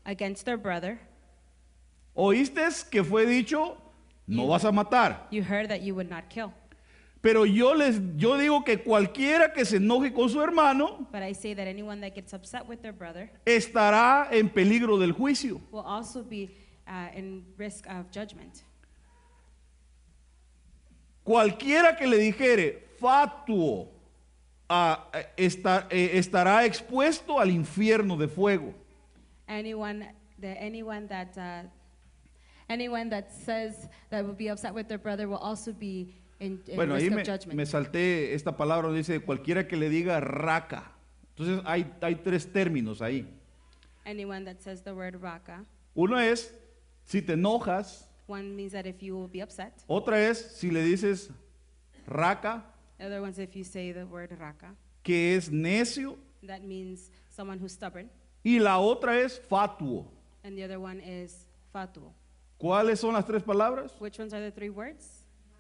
against their brother. Oíste que fue dicho, no vas a matar. You heard that you would not kill. Pero yo digo que cualquiera que se enoje con su hermano But I say that anyone that gets upset with their brother estará en peligro del juicio. will also be in risk of judgment. Cualquiera que le dijere fatuo estará expuesto al infierno de fuego. Anyone that says that will be upset with their brother will also be in Bueno, risk ahí of me judgment. salté esta palabra donde dice cualquiera que le diga raca. Entonces hay tres términos ahí. Anyone that says the word raka, Uno es si te enojas, one means that if you will be upset. otra es si le dices raca, The other one's if you say the word raka, que es necio, that means someone who's stubborn. y la otra es fatuo. And the other one is fatuo. ¿Cuáles son las tres palabras? Which ones are the three words?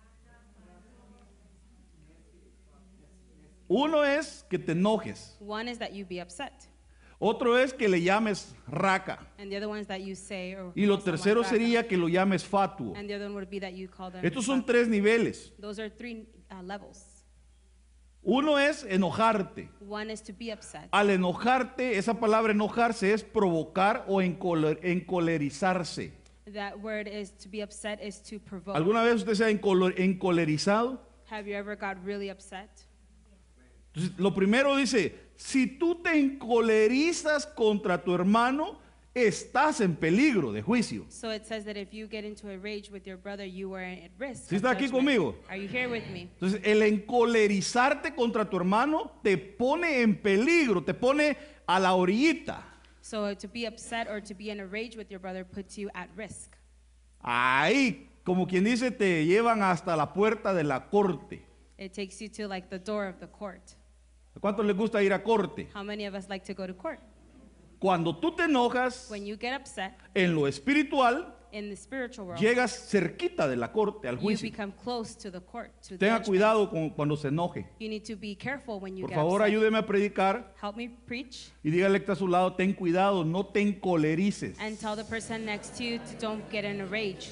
Uno es que te enojes, One is that you be upset, otro es que le llames raca, and the other one is that you say or y lo call someone tercero raka. sería que lo llames fatuo. And the other one would be that you call them Estos son fatuo. tres niveles. Those are three levels. Uno es enojarte. One is to be upset. Al enojarte, esa palabra enojarse es provocar o encolerizarse. That word is to be upset is to provoke. ¿Alguna vez usted se ha encolerizado? Have you ever got really upset? Entonces, lo primero dice, si tú te encolerizas contra tu hermano, estás en peligro de juicio. So it says that if you get into a rage with your brother, you are at risk. ¿Sí of está aquí judgment. conmigo? Are you here with me? Entonces, el encolerizarte contra tu hermano te pone en peligro, te pone a la orillita. So to be upset or to be in a rage with your brother puts you at risk. Ahí, como quien dice, te llevan hasta la puerta de la corte. It takes you to like the door of the court. ¿A cuántos les gusta ir a corte? How many of us like to go to court? Cuando tú te enojas, When you get upset en lo espiritual, in the spiritual world, llegas cerquita de la corte, al you juicio. become close to the court, to Tenga judgment. cuidado cuando se enoje. You need to be careful when you Por get favor, upset. ayúdeme a predicar Help me preach y dígale que está a su lado, ten cuidado, no te encolerices. and tell the person next to you to don't get in a rage.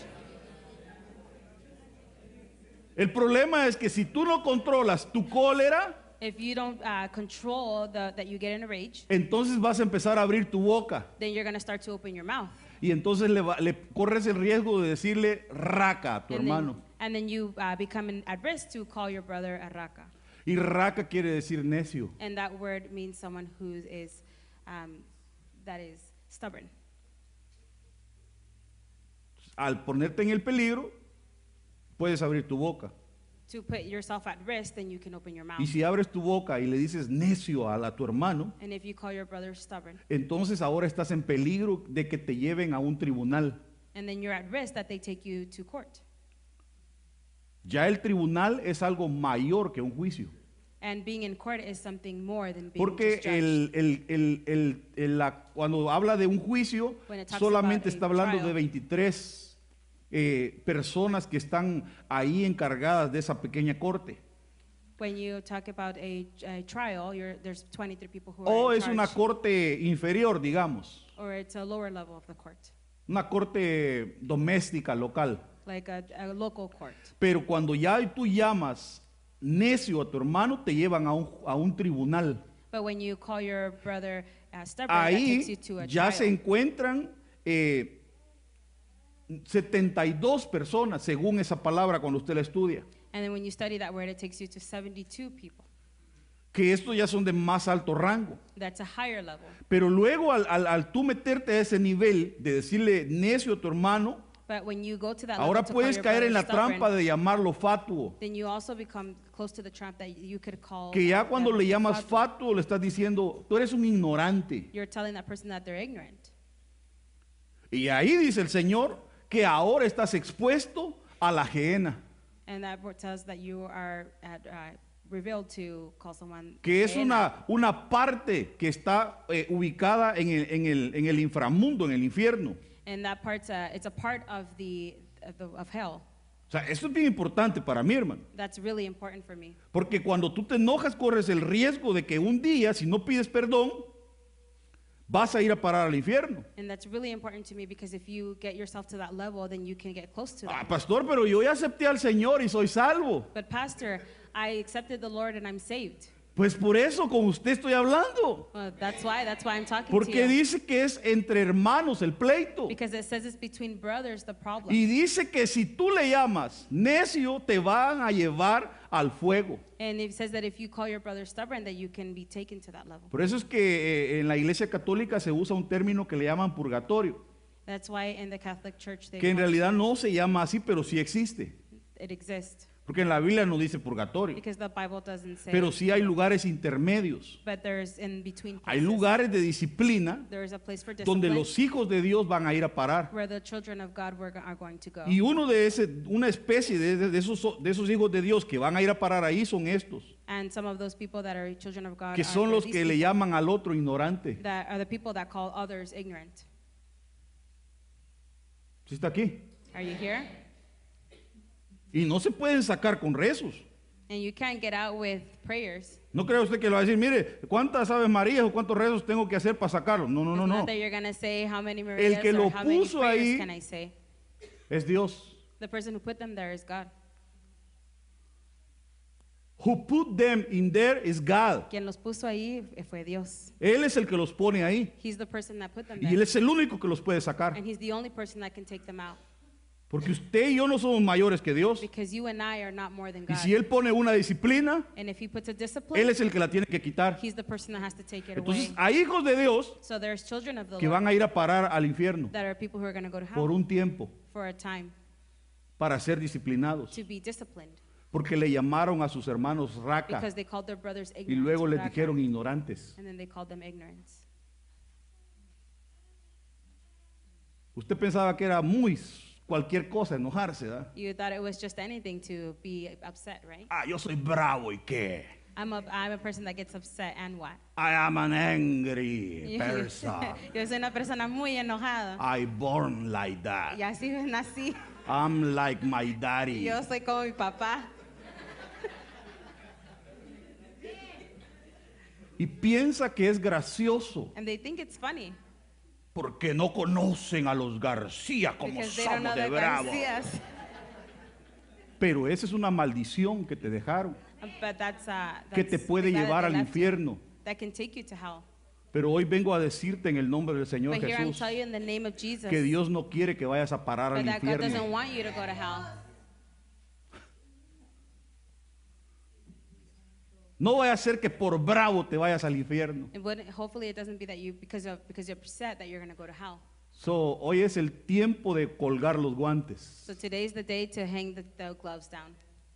El problema es que si tú no controlas tu cólera, If you don't control that you get in a rage, entonces vas a empezar a abrir tu boca then you're going to start to open your mouth. y entonces le corres el riesgo de decirle raca a tu hermano. And then you become at risk to call your brother a raka. Y raca quiere decir necio. And that word means someone who is that is stubborn. Al ponerte en el peligro, puedes abrir tu boca. To put yourself at risk, then you can open your mouth. Y si abres tu boca y le dices necio a tu hermano, And if you call your brother stubborn, entonces ahora estás en peligro de que te lleven a un tribunal. and then you're at risk that they take you to court. Ya el tribunal es algo mayor que un juicio. And being in court is something more than being Porque just judged. cuando habla de un juicio, When it talks solamente about a está hablando trial. de 23 personas que están ahí encargadas de esa pequeña corte. When you talk about a trial, there's 23 people who O are in es una charge, corte inferior, digamos, or it's a lower level of the court, una corte doméstica local. like a local court. Pero cuando ya tú llamas necio a tu hermano, te llevan a un tribunal. But when you call your brother stubborn, that Ahí takes you to a ya trial. se encuentran 72 personas, según esa palabra cuando usted la estudia. And then when you study that word, it takes you to 72 people. Que estos ya son de más alto rango. That's a higher level. Pero luego al tú meterte a ese nivel de decirle necio a tu hermano, But when you go to that ahora level to call puedes your caer brother en la stubborn, trampa de llamarlo fatuo. then you also become close to the trap that you could call. Que ya cuando them le llamas fatuo. fatuo le estás diciendo, tú eres un ignorante. You're telling that person that they're ignorant. Y ahí dice el Señor que ahora estás expuesto a la gehenna, And that word tells that you are revealed to call someone. que es Gehenna. una parte que está ubicada en el inframundo, en el infierno. And that part's it's a part of of hell. O sea, eso es bien importante para mí, hermano. That's really important for me. Porque cuando tú te enojas corres el riesgo de que un día, si no pides perdón, vas a ir a parar al infierno. And that's really important to me because if you get yourself to that level, then you can get close to Ah, that. pastor, pero yo ya acepté al Señor y soy salvo. But Pastor, I accepted the Lord and I'm saved. Pues por eso con usted estoy hablando. Well, that's why I'm talking to Porque you. dice que es entre hermanos el pleito. Because it says it's between brothers the problem. Y dice que si tú le llamas necio, te van a llevar al fuego. And it says that if you call your brother stubborn, that you can be taken to that level. Por eso es que en la iglesia católica se usa un término que le llaman purgatorio, That's why in the Catholic Church que en want- realidad no se llama así, pero sí existe. it exists. Porque en la Biblia no dice purgatorio, Because the Bible doesn't say. pero sí hay lugares intermedios. But there's in between Hay places. lugares de disciplina There is a place for donde discipline los hijos de Dios van a ir a parar. where the children of God are going to go. Y una especie de esos hijos de Dios que van a ir a parar ahí son estos, And some of those people that are children of God que are son los these que le people llaman al otro ignorante. that are the people that call others ignorant. ¿Sí está aquí? Are you here? Y no se pueden sacar con rezos. And you can't get out with prayers. No crea usted que le va a decir, mire, ¿cuántas Aves Marías o cuántos rezos tengo que hacer para sacarlo? No, no, no, It's no. not that you're going to say how many Marias que or lo how many puso prayers ahí- can I say. Es Dios. The person who put them there is God. Who put them in there is God. Quien los puso ahí fue Dios. Él es el que los pone ahí. He's the person that put them Y Él there. es el único que los puede sacar. And he's the only person that can take them out. Porque usted y yo no somos mayores que Dios. Because you and I are not more than Y God. si Él pone una disciplina, And if he puts a Él discipline, es el que la tiene que quitar. he's the person that has to take it Entonces away. hay hijos de Dios So there's children of the que Lord van a ir a parar al infierno that are people who are going to go to por hell un tiempo for a time para ser disciplinados. to be disciplined. Porque le llamaron a sus hermanos raca Because they called their brothers y ignorant. luego les raka, dijeron ignorantes. And then they called them ignorance. Usted pensaba que era muy cualquier cosa enojarse, ¿verdad? You thought it was just anything to be upset, right? Ah, yo soy bravo y qué. I'm a person that gets upset and what? I am an angry person. Yo soy una persona muy enojada. I born like that. Y así nací. I'm like my daddy. Yo soy como mi papá. Y piensa que es gracioso And they think it's funny porque no conocen a los García como because they don't know somos de the bravo. Garcias. Pero esa es una maldición que te dejaron, But that's que te puede the God llevar that al they left you, infierno. that can take you to hell. Pero hoy vengo a decirte en el nombre del Señor But here I'm Jesús telling you in the name of Jesus que Dios no quiere que vayas a parar but al that God doesn't infierno. want you to go to hell. No vaya a ser que por bravo te vayas al infierno. Hopefully it doesn't be that you because you're upset that you're going to go to hell. So, hoy es el tiempo de colgar los guantes. So today's the day to hang the gloves down.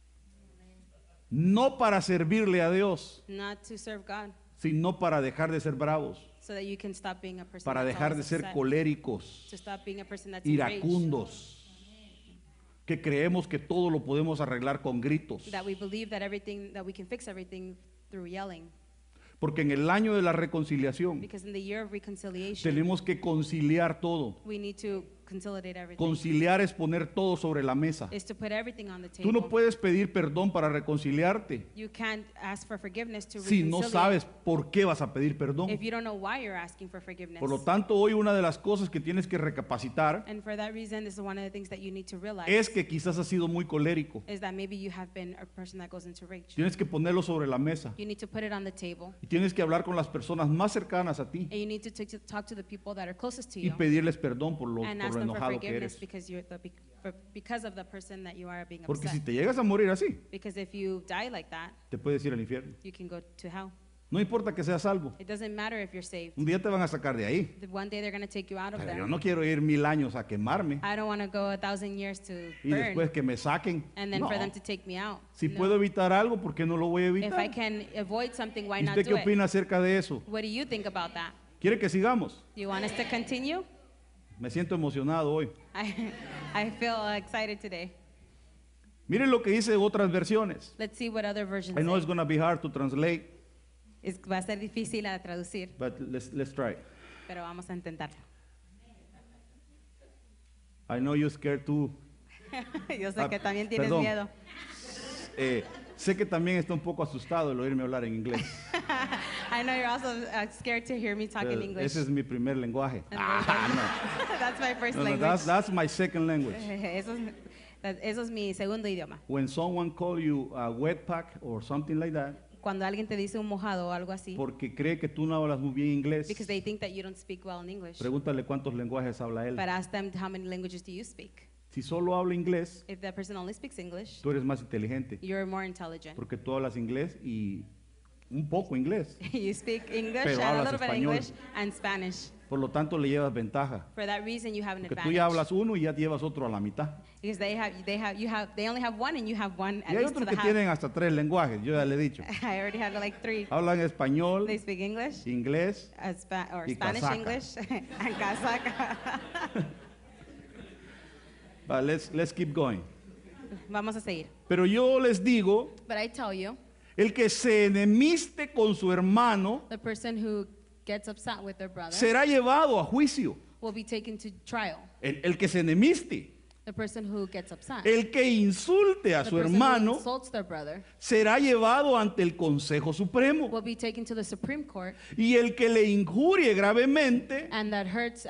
No para servirle a Dios, Not to serve God, sino para dejar de ser bravos, so that you can stop being a person para that's dejar de always ser upset, coléricos, to stop being a person that's enraged, iracundos, que creemos que todo lo podemos arreglar con gritos. that we believe that we can fix everything through yelling. Porque en el año de la reconciliación Because in the year of reconciliation, tenemos que conciliar todo. we need to conciliate everything. Conciliar es poner todo sobre la mesa. Is to put everything on the table. Tú no puedes pedir perdón para reconciliarte You can't ask for forgiveness to si no reconcile sabes por qué vas a pedir perdón. if you don't know why you're asking for forgiveness. Por lo tanto, hoy una de las cosas que tienes que recapacitar And for that reason, this is one of the things that you need to realize es que quizás has sido muy colérico. is that maybe you have been a person that goes into rage. Tienes que ponerlo sobre la mesa You need to put it on the table, y tienes que hablar con las personas más cercanas a ti and you need to talk to the people that are closest to y you pedirles perdón por lo and ask them for enojado que forgiveness eres. because of the person that you are being Porque si upset. te llegas a morir así, Because if you die like that, te puedes ir al infierno. you can go to hell. No importa que seas salvo. It doesn't matter if you're saved. Un día te van a sacar de ahí. One day they're going to take you out of Pero there. yo no quiero ir 1000 años a quemarme I don't want to go 1,000 years to y burn después que me saquen. and then No. for them to take me out. Si No. puedo evitar algo, ¿por qué no lo voy a If I evitar? can avoid something, why ¿Y not usted qué do it? opina acerca de eso? What do you think about that? ¿Quiere que sigamos? Do you want us to continue? Me siento emocionado hoy. I feel excited today. Miren lo que dice otras versiones. Let's see what other versions I know it's say. going to be hard to translate, Va a ser difícil a traducir, but let's try. pero vamos a intentarlo. I know you're scared too. Yo sé que también tienes perdón. miedo. Sé que también está un poco asustado el oírme hablar en inglés. I know you're also scared to hear me talk in English. Ese es mi primer lenguaje. And that's my first No, language. that's my second language. Eso es mi segundo idioma. When someone call you a wetback or something like that, Cuando alguien te dice un mojado o algo así, porque cree que tú no hablas muy bien inglés, because they think that you don't speak well in English. pregúntale cuántos lenguajes habla él. But ask them, how many languages do you speak? Si solo habla inglés, If that person only speaks English, tú eres más inteligente, you're more intelligent. porque tú hablas inglés y un poco inglés. You speak English Pero and a hablas little bit of español. English and Spanish. Por lo tanto, le llevas ventaja. For that reason, you have an Porque tú advantage. ya hablas uno y ya llevas otro a la mitad. Because they only have one and you have one Y at hay least to otros the que half. tienen hasta 3 lenguajes, yo ya le he dicho. I already have like 3. Hablan español, They speak English, inglés, or y Spanish casaca. English, and Kazakh. but let's keep going. Vamos a seguir. Pero yo les digo, But I tell you, el que se enemiste con su hermano the person who gets upset with their brother será llevado a juicio. will be taken to trial. El que se enemiste, The person who gets upset, el que insulte a the su person who hermano insults their brother, será llevado ante el Consejo Supremo. will be taken to the Supreme Court, Y el que le injurie gravemente and that hurts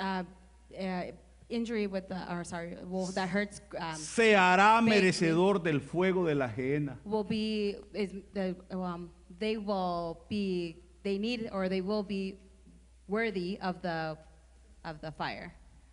injury with the, or sorry, well, that hurts se hará Baby. merecedor del fuego de la ajena. will be they will be they will be worthy of the fire.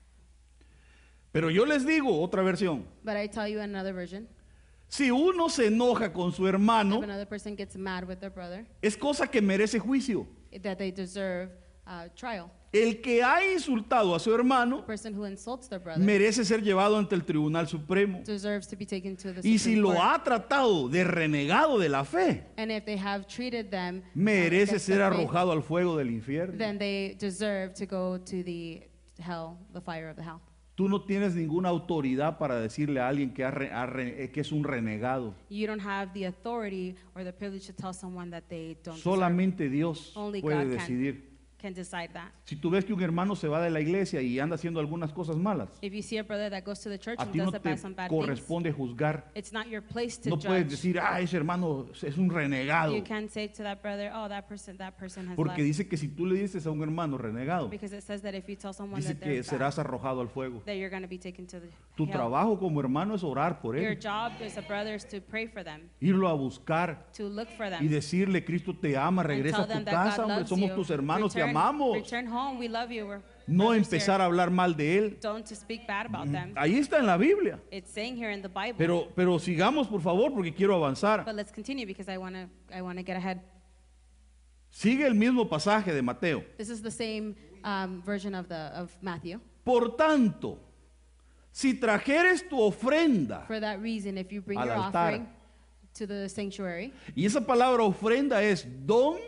Pero yo les digo otra versión. But I tell you another version. Si uno se enoja con su hermano, If another person gets mad with their brother, es cosa que merece juicio. that they deserve trial. El que ha insultado a su hermano The person who insults their brother merece ser llevado ante el Tribunal Supremo. deserves to be taken to the Y si Supreme lo Court. ha tratado de renegado de la fe, And if they have treated them merece against ser the faith, arrojado al fuego del infierno. then they deserve to go to the hell, the fire of the hell. Tú no tienes ninguna autoridad para decirle a alguien que, que es un renegado. You don't have the authority or the privilege to tell someone that they don't deserve. Solamente Dios Only puede God decidir. can decide that. Si tú ves que un hermano se va de la iglesia y anda haciendo algunas cosas malas, If you see a brother that goes to the church a and ti no does te some bad things, corresponde juzgar. it's not your place to No puedes judge. decir, ese hermano es un renegado. You can't say to that brother, oh, that person has Porque left. dice que si tú le dices a un hermano renegado, Because it says that if you tell someone dice that que they're bad, serás arrojado al fuego. that you're going to be taken to the Tu hell. trabajo como hermano es orar por Your él, job as a brother is to pray for them, irlo a buscar to look for them. y decirle, Cristo te ama, And regresa tell a tu them that casa, God hombre, loves somos you. tus hermanos, te Return- amamos. Return home, we love you. We're No brothers empezar here. a hablar mal de él. Don't to speak bad about them. Ahí está en la Biblia. It's saying here in the Bible. Pero sigamos, por favor, porque quiero avanzar. But let's continue because I want to get ahead. Sigue el mismo pasaje de Mateo. This is the same version of Matthew. Por tanto, si trajeres tu ofrenda, For that reason, if you bring Al your altar. offering to the sanctuary, y esa palabra ofrenda es don,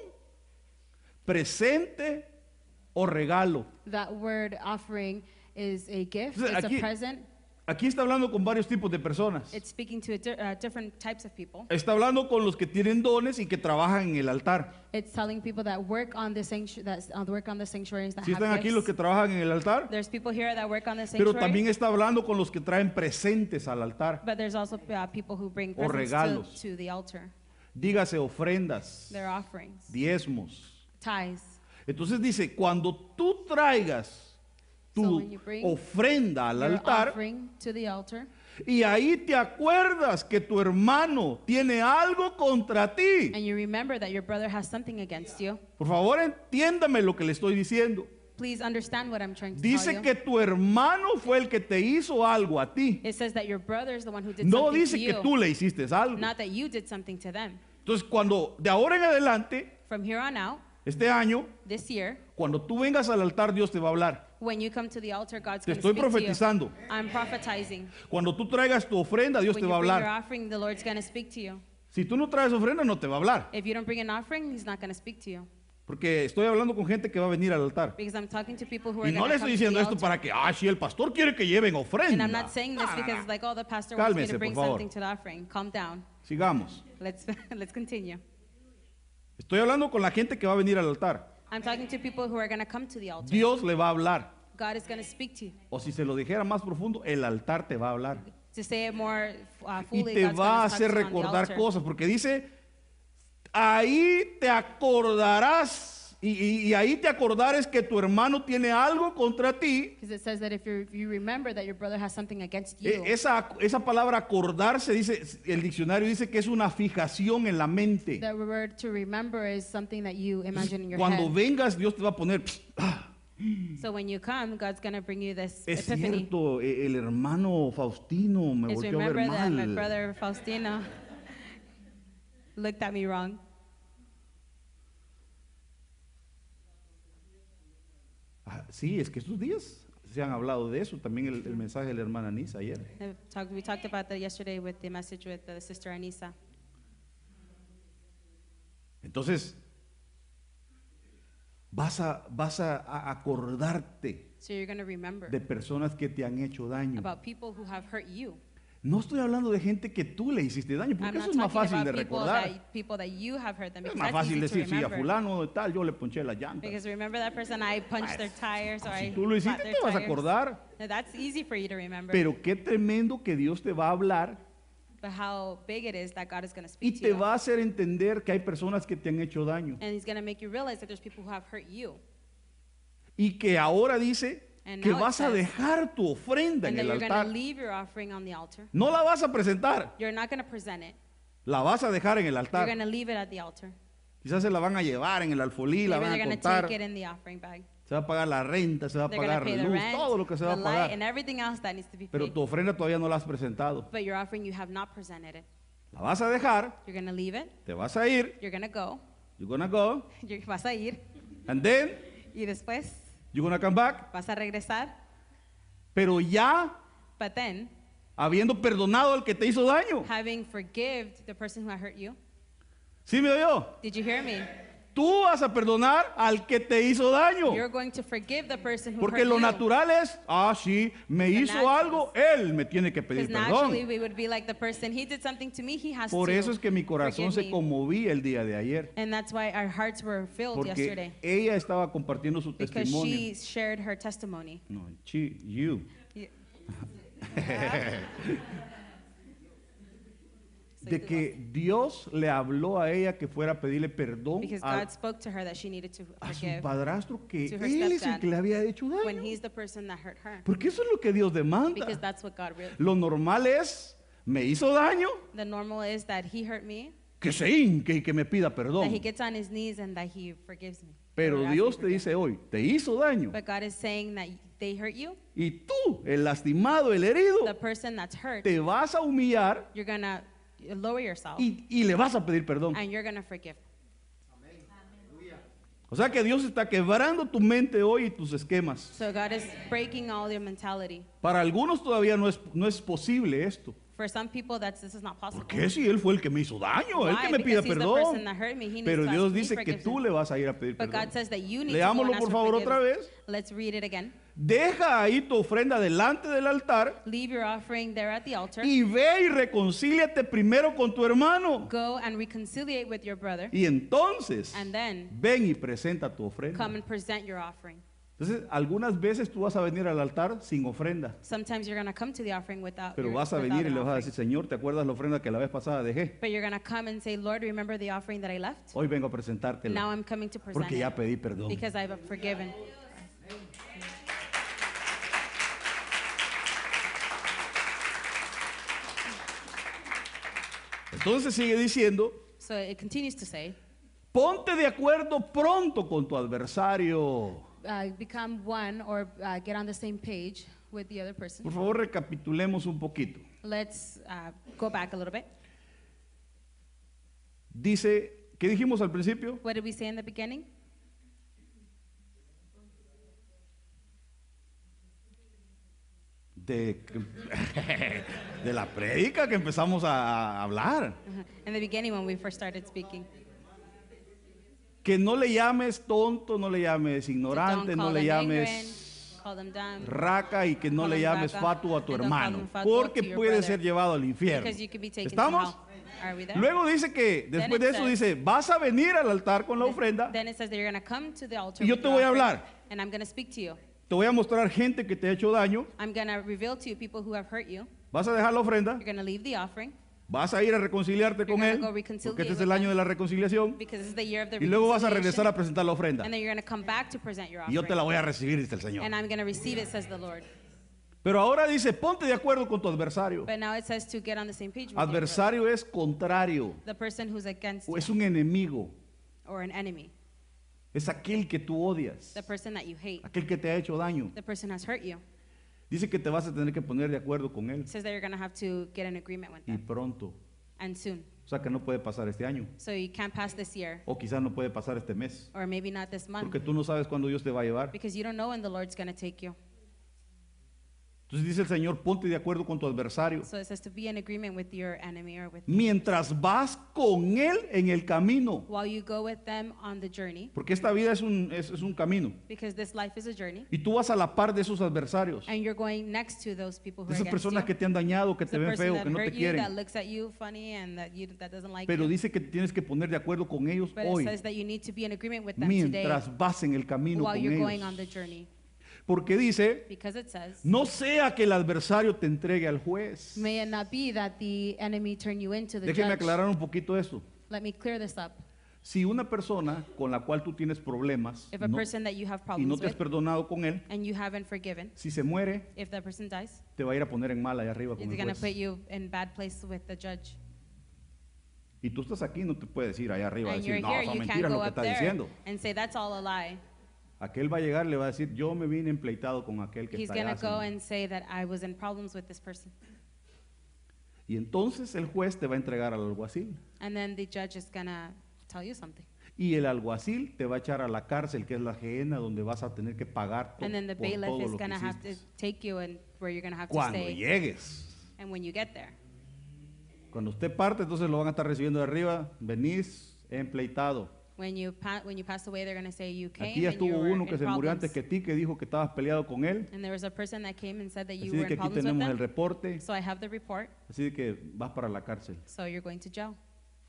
presente o regalo. that word offering is a gift, Entonces, it's aquí- a present. Aquí está hablando con varios tipos de personas. It's speaking to different types of people. Está hablando con los que tienen dones y que trabajan en el altar. It's telling people that work on the sanctuaries that ¿Sí have están aquí los gifts. que trabajan en el altar? There's people here that work on the Pero sanctuary, también está hablando con los que traen presentes al altar. but there's also people who bring O presents regalos. to the altar. Dígase ofrendas, Their offerings, diezmos. tithes. Entonces dice, cuando tú traigas So tu when you bring ofrenda al Your altar offering to the altar, y ahí te acuerdas que tu hermano tiene algo contra ti. and you remember that your brother has something against you, Por favor, entiéndame lo que le estoy diciendo. please understand what I'm trying to tell Dice you. que tu hermano fue el que te hizo algo a ti. It says that your brother is the one who did No something dice to que you, tú le hiciste algo. not that you did something to them. Entonces, cuando de ahora en adelante, From here on out, este año, this year, cuando tú vengas al altar, Dios te va a hablar. when you come to the altar, God's Te going to estoy speak to you. profetizando. I'm prophetizing. Cuando tú traigas tu ofrenda, Dios When te you va a bring your hablar. offering, the Lord's going to speak to you. Si tú no traes ofrenda, no te va a hablar. If you don't bring an offering, He's not going to speak to you. Porque estoy hablando con gente que va a venir al altar. Because I'm talking to people who are Y no going le to estoy come to diciendo the esto altar. para que, si el pastor quiere que lleven ofrenda. And I'm not saying this No, no, because no. it's like, oh, the pastor wants me Cálmese, to bring por favor. something to the offering. Calm down. Sigamos. Let's continue. Estoy hablando con la gente que va a venir al altar. I'm talking to people who are going to come to the altar. Dios le va a hablar. God is going to speak to you. O si se lo dijera más profundo, el altar te va a hablar. To say it more Y fully, te God's va a going to hacer talk to you on the recordar altar. cosas. Porque dice, ahí te acordarás y ahí te acordares que tu hermano tiene algo contra ti. Because it says that if you remember that your brother has something against you, Esa palabra acordarse, dice, el diccionario dice que es una fijación en la mente. the word to remember is something that you imagine in your Cuando head. vengas, Dios te va a poner, So when you come, God's going to bring you this es epiphany. cierto, el hermano Faustino me Is volvió a ver remember that my mal. brother Faustino looked at me wrong. Sí, es que estos días se han hablado de eso, también el mensaje de la hermana Nisa ayer. We talked about that yesterday with the message with the sister Anissa. Entonces, vas a acordarte So you're going to remember de personas que te han hecho daño. about people who have hurt you. No estoy hablando de gente que tú le hiciste daño, I'm porque not eso es más talking fácil de about recordar. people that you have hurt them, Es because más that's fácil easy to decir, sí, a remember. fulano de tal, yo le ponché las llantas. Because remember that person, I punched their tires or Si I tú lo hiciste, flat their te vas a tires. acordar. Now, that's easy for you to remember. Pero qué tremendo que Dios te va a hablar But how big it is that God is going to y speak to te you. va a hacer entender que hay personas que te han hecho daño. And He's going to make you realize that there's people who have hurt you. Y que ahora dice And que now it vas a says- dejar tu ofrenda en And that el you're going to altar. leave your offering on the altar. No la vas a presentar, You're not going to present it. la vas a dejar en el You're altar. going to leave it at the altar. Quizás se la van a llevar en el alfolí, la Maybe van they're a going to contar. take it in the offering bag. Se va a pagar la renta, se va a They're going to pagar pay la the luz, rent, todo lo que se va the a light, pagar. and everything else that needs to be Pero paid. tu ofrenda todavía no la has presentado. But your offering, you have not presented it. La vas a dejar, You're going to leave it. te vas a ir, You're going to go. you're gonna go, Vas a ir. and then Y después you're gonna come back. vas a regresar. Pero ya But then, habiendo perdonado al que te hizo daño. having forgiven the person who had hurt you, ¿Sí me oyó? did you hear me? Tú vas a perdonar al que te hizo daño. You're going to forgive the person who Porque hurt lo you. natural es, sí, me The hizo natural algo, él me tiene que pedir Because perdón. naturally we would be like the person, he did something to me, he has Por to eso es que mi corazón se forgive me. conmovía el día de ayer. And that's why our hearts were filled Porque yesterday. ella estaba compartiendo su Because testimonio. she shared her testimony. No, you. De que Dios le habló a ella que fuera a pedirle perdón Because a God spoke to her that she needed to su forgive padrastro, que to her él es el stepdad que le había hecho when daño. he's the person that hurt her. Porque eso es lo que Dios demanda. Because that's what God really. Lo normal es, me hizo daño, The normal is that he hurt me, que se hinque y que me pida that perdón. he gets on his knees and that he forgives me. Pero Or asks Dios me te for dice hoy, te hizo daño. But God is saying that they hurt you, Y tú, el lastimado, el herido, the person that's hurt, te vas a humillar you're going to lower yourself y le vas a pedir perdón. and you're going to forgive. O sea que Dios está quebrando tu mente hoy y tus esquemas. So God is breaking all your mentality. Para algunos todavía no es posible esto. For some people, this is not possible. ¿Por qué si Él fue el que me hizo daño? Él Why? que me pida Because he's the perdón. person that hurt me. He needs Pero to Dios ask me dice que tú forgiveness. le vas a ir a pedir But perdón. God says that you need to go and Leámoslo ask por for favor otra forgiveness. vez. Let's read it again. Deja ahí tu ofrenda delante del altar Leave your offering there at the altar. y ve y reconcíliate primero con tu hermano. Go and reconciliate with your brother. Y entonces And then ven y presenta tu ofrenda. come and present your offering. Entonces, algunas veces tú vas a venir al altar sin ofrenda, Sometimes you're going to come to the offering without pero your, vas a without venir y an le vas a offering. decir, Señor, ¿te acuerdas la ofrenda que la vez pasada dejé? But you're going to come and say, Lord, remember the offering that I left? Hoy vengo a Now presentártela I'm coming to present porque ya it pedí perdón. because I've forgiven. Entonces sigue diciendo, So it continues to say, ponte de acuerdo pronto con tu adversario. become one or get on the same page with the other person. Por favor, recapitulemos un poquito. let's go back a little bit. Dice, ¿qué dijimos al principio? What did we say in the beginning? De, de la prédica que empezamos a hablar. In the beginning when we first started speaking. Que no le llames tonto, no le llames So ignorante, don't no call le them llames ignorant, call them dumb, raca y que no Call le them llames vaca, fatuo a tu and don't call hermano, them fatuo porque to your puede brother, ser llevado al infierno. because you could be taken ¿Estamos? to hell. Are we there? Luego dice que después Then de it eso says- dice, vas a venir al altar con la ofrenda, Then it says that you're going to come to the altar y yo with te your voy a offering, hablar. and I'm going to speak to you. Te voy a mostrar gente que te ha hecho daño, I'm going to reveal to you people who have hurt you. vas a dejar la ofrenda, You're going to leave the offering. Vas a ir a reconciliarte con gonna él, go reconciliate porque este es with el año him. de la reconciliación, because this is the year of the y luego vas a reconciliation, regresar a presentar la ofrenda. and then you're going to come back to present your Y yo te la offering. voy a recibir, dice el Señor. And I'm going to receive it, says the Lord. Pero ahora dice, ponte de acuerdo con tu adversario. But now it says to get on the same page with your brother. Adversario es contrario, The person who's against o you, es un enemigo, or an enemy. es aquel que tú odias, The person that you hate. aquel que te ha hecho daño. The person has hurt you. Dice que te vas a tener que poner de acuerdo con él It says that you're going to have to get an agreement with y them. pronto. And soon. O sea que no puede pasar este año, So you can't pass this year. o quizás no puede pasar este mes, Or maybe not this month. porque tú no sabes cuándo Dios te va a llevar. Because you don't know when the Lord's going to take you. Entonces dice el Señor, ponte de acuerdo con tu adversario. So it says to be in agreement with your enemy or with Mientras vas con él en el camino. while you go with them on the journey. Porque esta vida es un camino. Because this life is a journey. Y tú vas a la par de esos adversarios. And you're going next to those people who De are esas against personas you. que te han dañado, que te The ven person feo, that que no te hurt you, that quieren. looks at you funny and that doesn't like Pero you. dice que te tienes que poner de acuerdo con ellos But it hoy. says that you need to be in agreement with them today Mientras vas en el camino while con you're going on the ellos. journey. Porque dice, Because it says, no sea que el adversario te entregue al juez. may it not be that the enemy turn you into the Déjeme judge. aclarar un poquito esto. Let me clear this up. Si una persona con la cual tú tienes problemas If a no- person that you have y no problems te has with perdonado con él, and you haven't forgiven, si se muere, if that person dies, te va a ir a poner en mal allá arriba con it's el going to juez. put you in bad place with the judge. Y tú estás aquí, no te puedes ir allá arriba a And decir, you're no, here, son you can't mentiras go lo que up está there diciendo. and say that's all a lie. Aquel va a llegar y le va a decir, yo me vine empleitado con aquel que He's está going allá. to go Señor". and say that I was in problems with this person. Y entonces el juez te va a entregar al alguacil. And then the judge is going to tell you something. Y el alguacil te va a echar a la cárcel, que es la gehenna, donde vas a tener que pagar And then the por bailiff todo is lo que going to have to hiciste. take you and where you're going to have to Cuando stay. llegues. And when you get there. Cuando usted parte, entonces lo van a estar recibiendo de arriba. Venís empleitado. When you pass away, they're going to say you came Aquí ya and you estuvo were uno que in se murió problems. antes que ti, que dijo que estabas peleado con él. And there was a person that came and said that you Así were de que in aquí problems with tenemos el them. reporte. So I have the report. Así de que vas para la cárcel. So you're going to jail.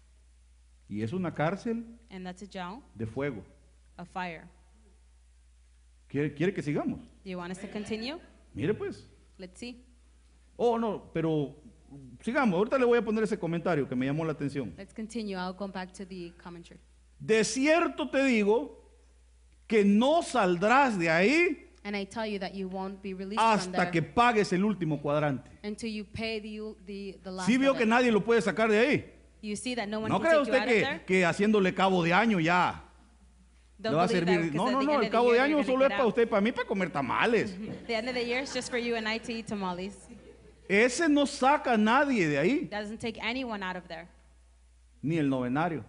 Y es una cárcel And that's a jail de fuego. of fire. ¿Quiere que sigamos? Do you want us to continue? Mire pues. Let's see. Oh, no, pero sigamos. Ahorita le voy a poner ese comentario que me llamó la atención. Let's continue. I'll go back to the commentary. De cierto te digo que no saldrás de ahí And I tell you that you won't be released from hasta there que pagues el último cuadrante. until you pay the last ¿Sí vio of que it. nadie lo puede sacar de ahí? You see that no one ¿No can cree take you usted out of there? que haciéndole cabo de año ya Don't le va a believe that servir? because No, at no, the no, end el of the cabo de year año you're solo gonna es get para out. usted y para mí para comer tamales. The end of the year is just for you and I to eat tamales. Ese no saca a nadie de ahí, Doesn't take anyone out of there. ni el novenario,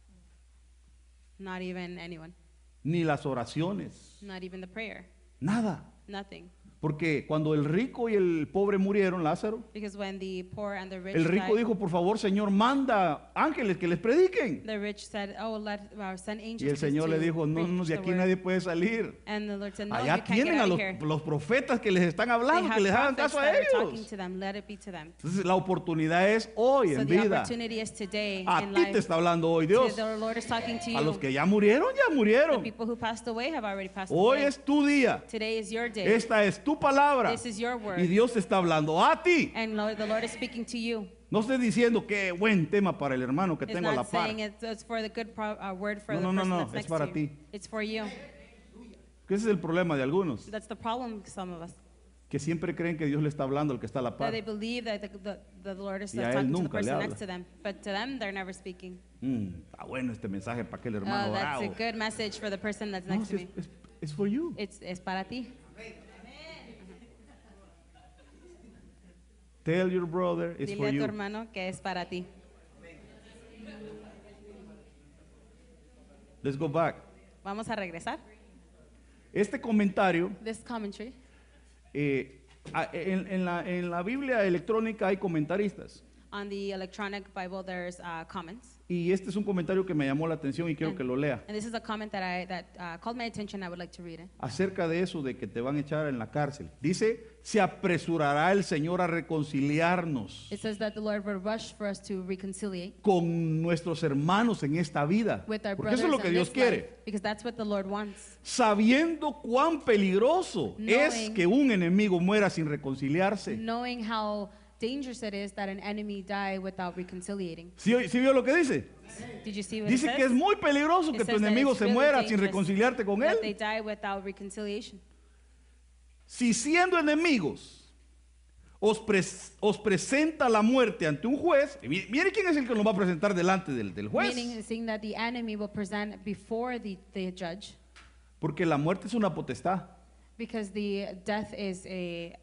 Not even anyone. ni las oraciones, Not even the prayer. nada. Nothing. Porque cuando el rico y el pobre murieron, Lázaro, Because when the poor and the rich el rico died, dijo, por favor, Señor, manda ángeles que les prediquen. the rich said, "Oh, send angels." Y el Señor le dijo, no, no, de preach aquí the word." nadie puede salir. And the Lord said, "No, Allá you can't get tienen a out of here. los profetas que les están They hablando, que have les hagan prophets caso a that are talking ellos. to them. Let it be to them." Entonces la oportunidad es hoy, So en the vida. opportunity is today A in ti life. te está hablando hoy Dios. The Lord is talking to you. A los que ya murieron, ya The murieron. people who passed away have already passed Hoy away. es tu día. Today is your day. Esta es tu palabra. This is your word. Y Dios te está hablando a ti. And the Lord is speaking to you. No estés diciendo qué buen tema para el hermano que It's tengo a la not par. saying it's for the good word for No, the no, no, person no, that's es next para to you. ti. It's for you. Que ese es el problema de algunos, That's the problem with some of us. que siempre creen que Dios le está hablando al que está a la That par. they believe that the Lord is Y a él talking to the nunca le person habla. next to them. But to them, they're never speaking. Está bueno este mensaje para aquel Oh, hermano that's a bravo. good message for the person that's No, next to si me. es for you. Es para ti. Tell your brother it's Dile for a tu you. hermano que es para ti. Let's go back. Vamos a regresar. Este comentario, This commentary. en la Biblia electrónica hay comentaristas. On the electronic Bible, there's comments. Y este es un comentario que me llamó la atención y quiero que lo lea. And this is a comment that called my attention. I would like to read it. Acerca de eso de que te van a echar en la cárcel. Dice, se apresurará el Señor a reconciliarnos It says that the Lord will rush for us to reconciliate con nuestros hermanos en esta vida. with our Porque brothers eso es lo que in Dios this quiere. life, because that's what the Lord wants. Sabiendo cuán peligroso es Knowing- que un enemigo muera sin reconciliarse. Knowing how dangerous it is that an enemy die without reconciliating. ¿Sí vio lo que dice? Did you see what Dice it que es says? muy peligroso It que tu says that enemigo it's se really muera sin dangerous reconciliarte con that they él. die without reconciliation. Si siendo enemigos os presenta la muerte ante un juez, y mire quién es el que nos va a presentar delante del juez. Meaning, saying that the enemy will present before the judge, Porque la muerte es una potestad. because the death is a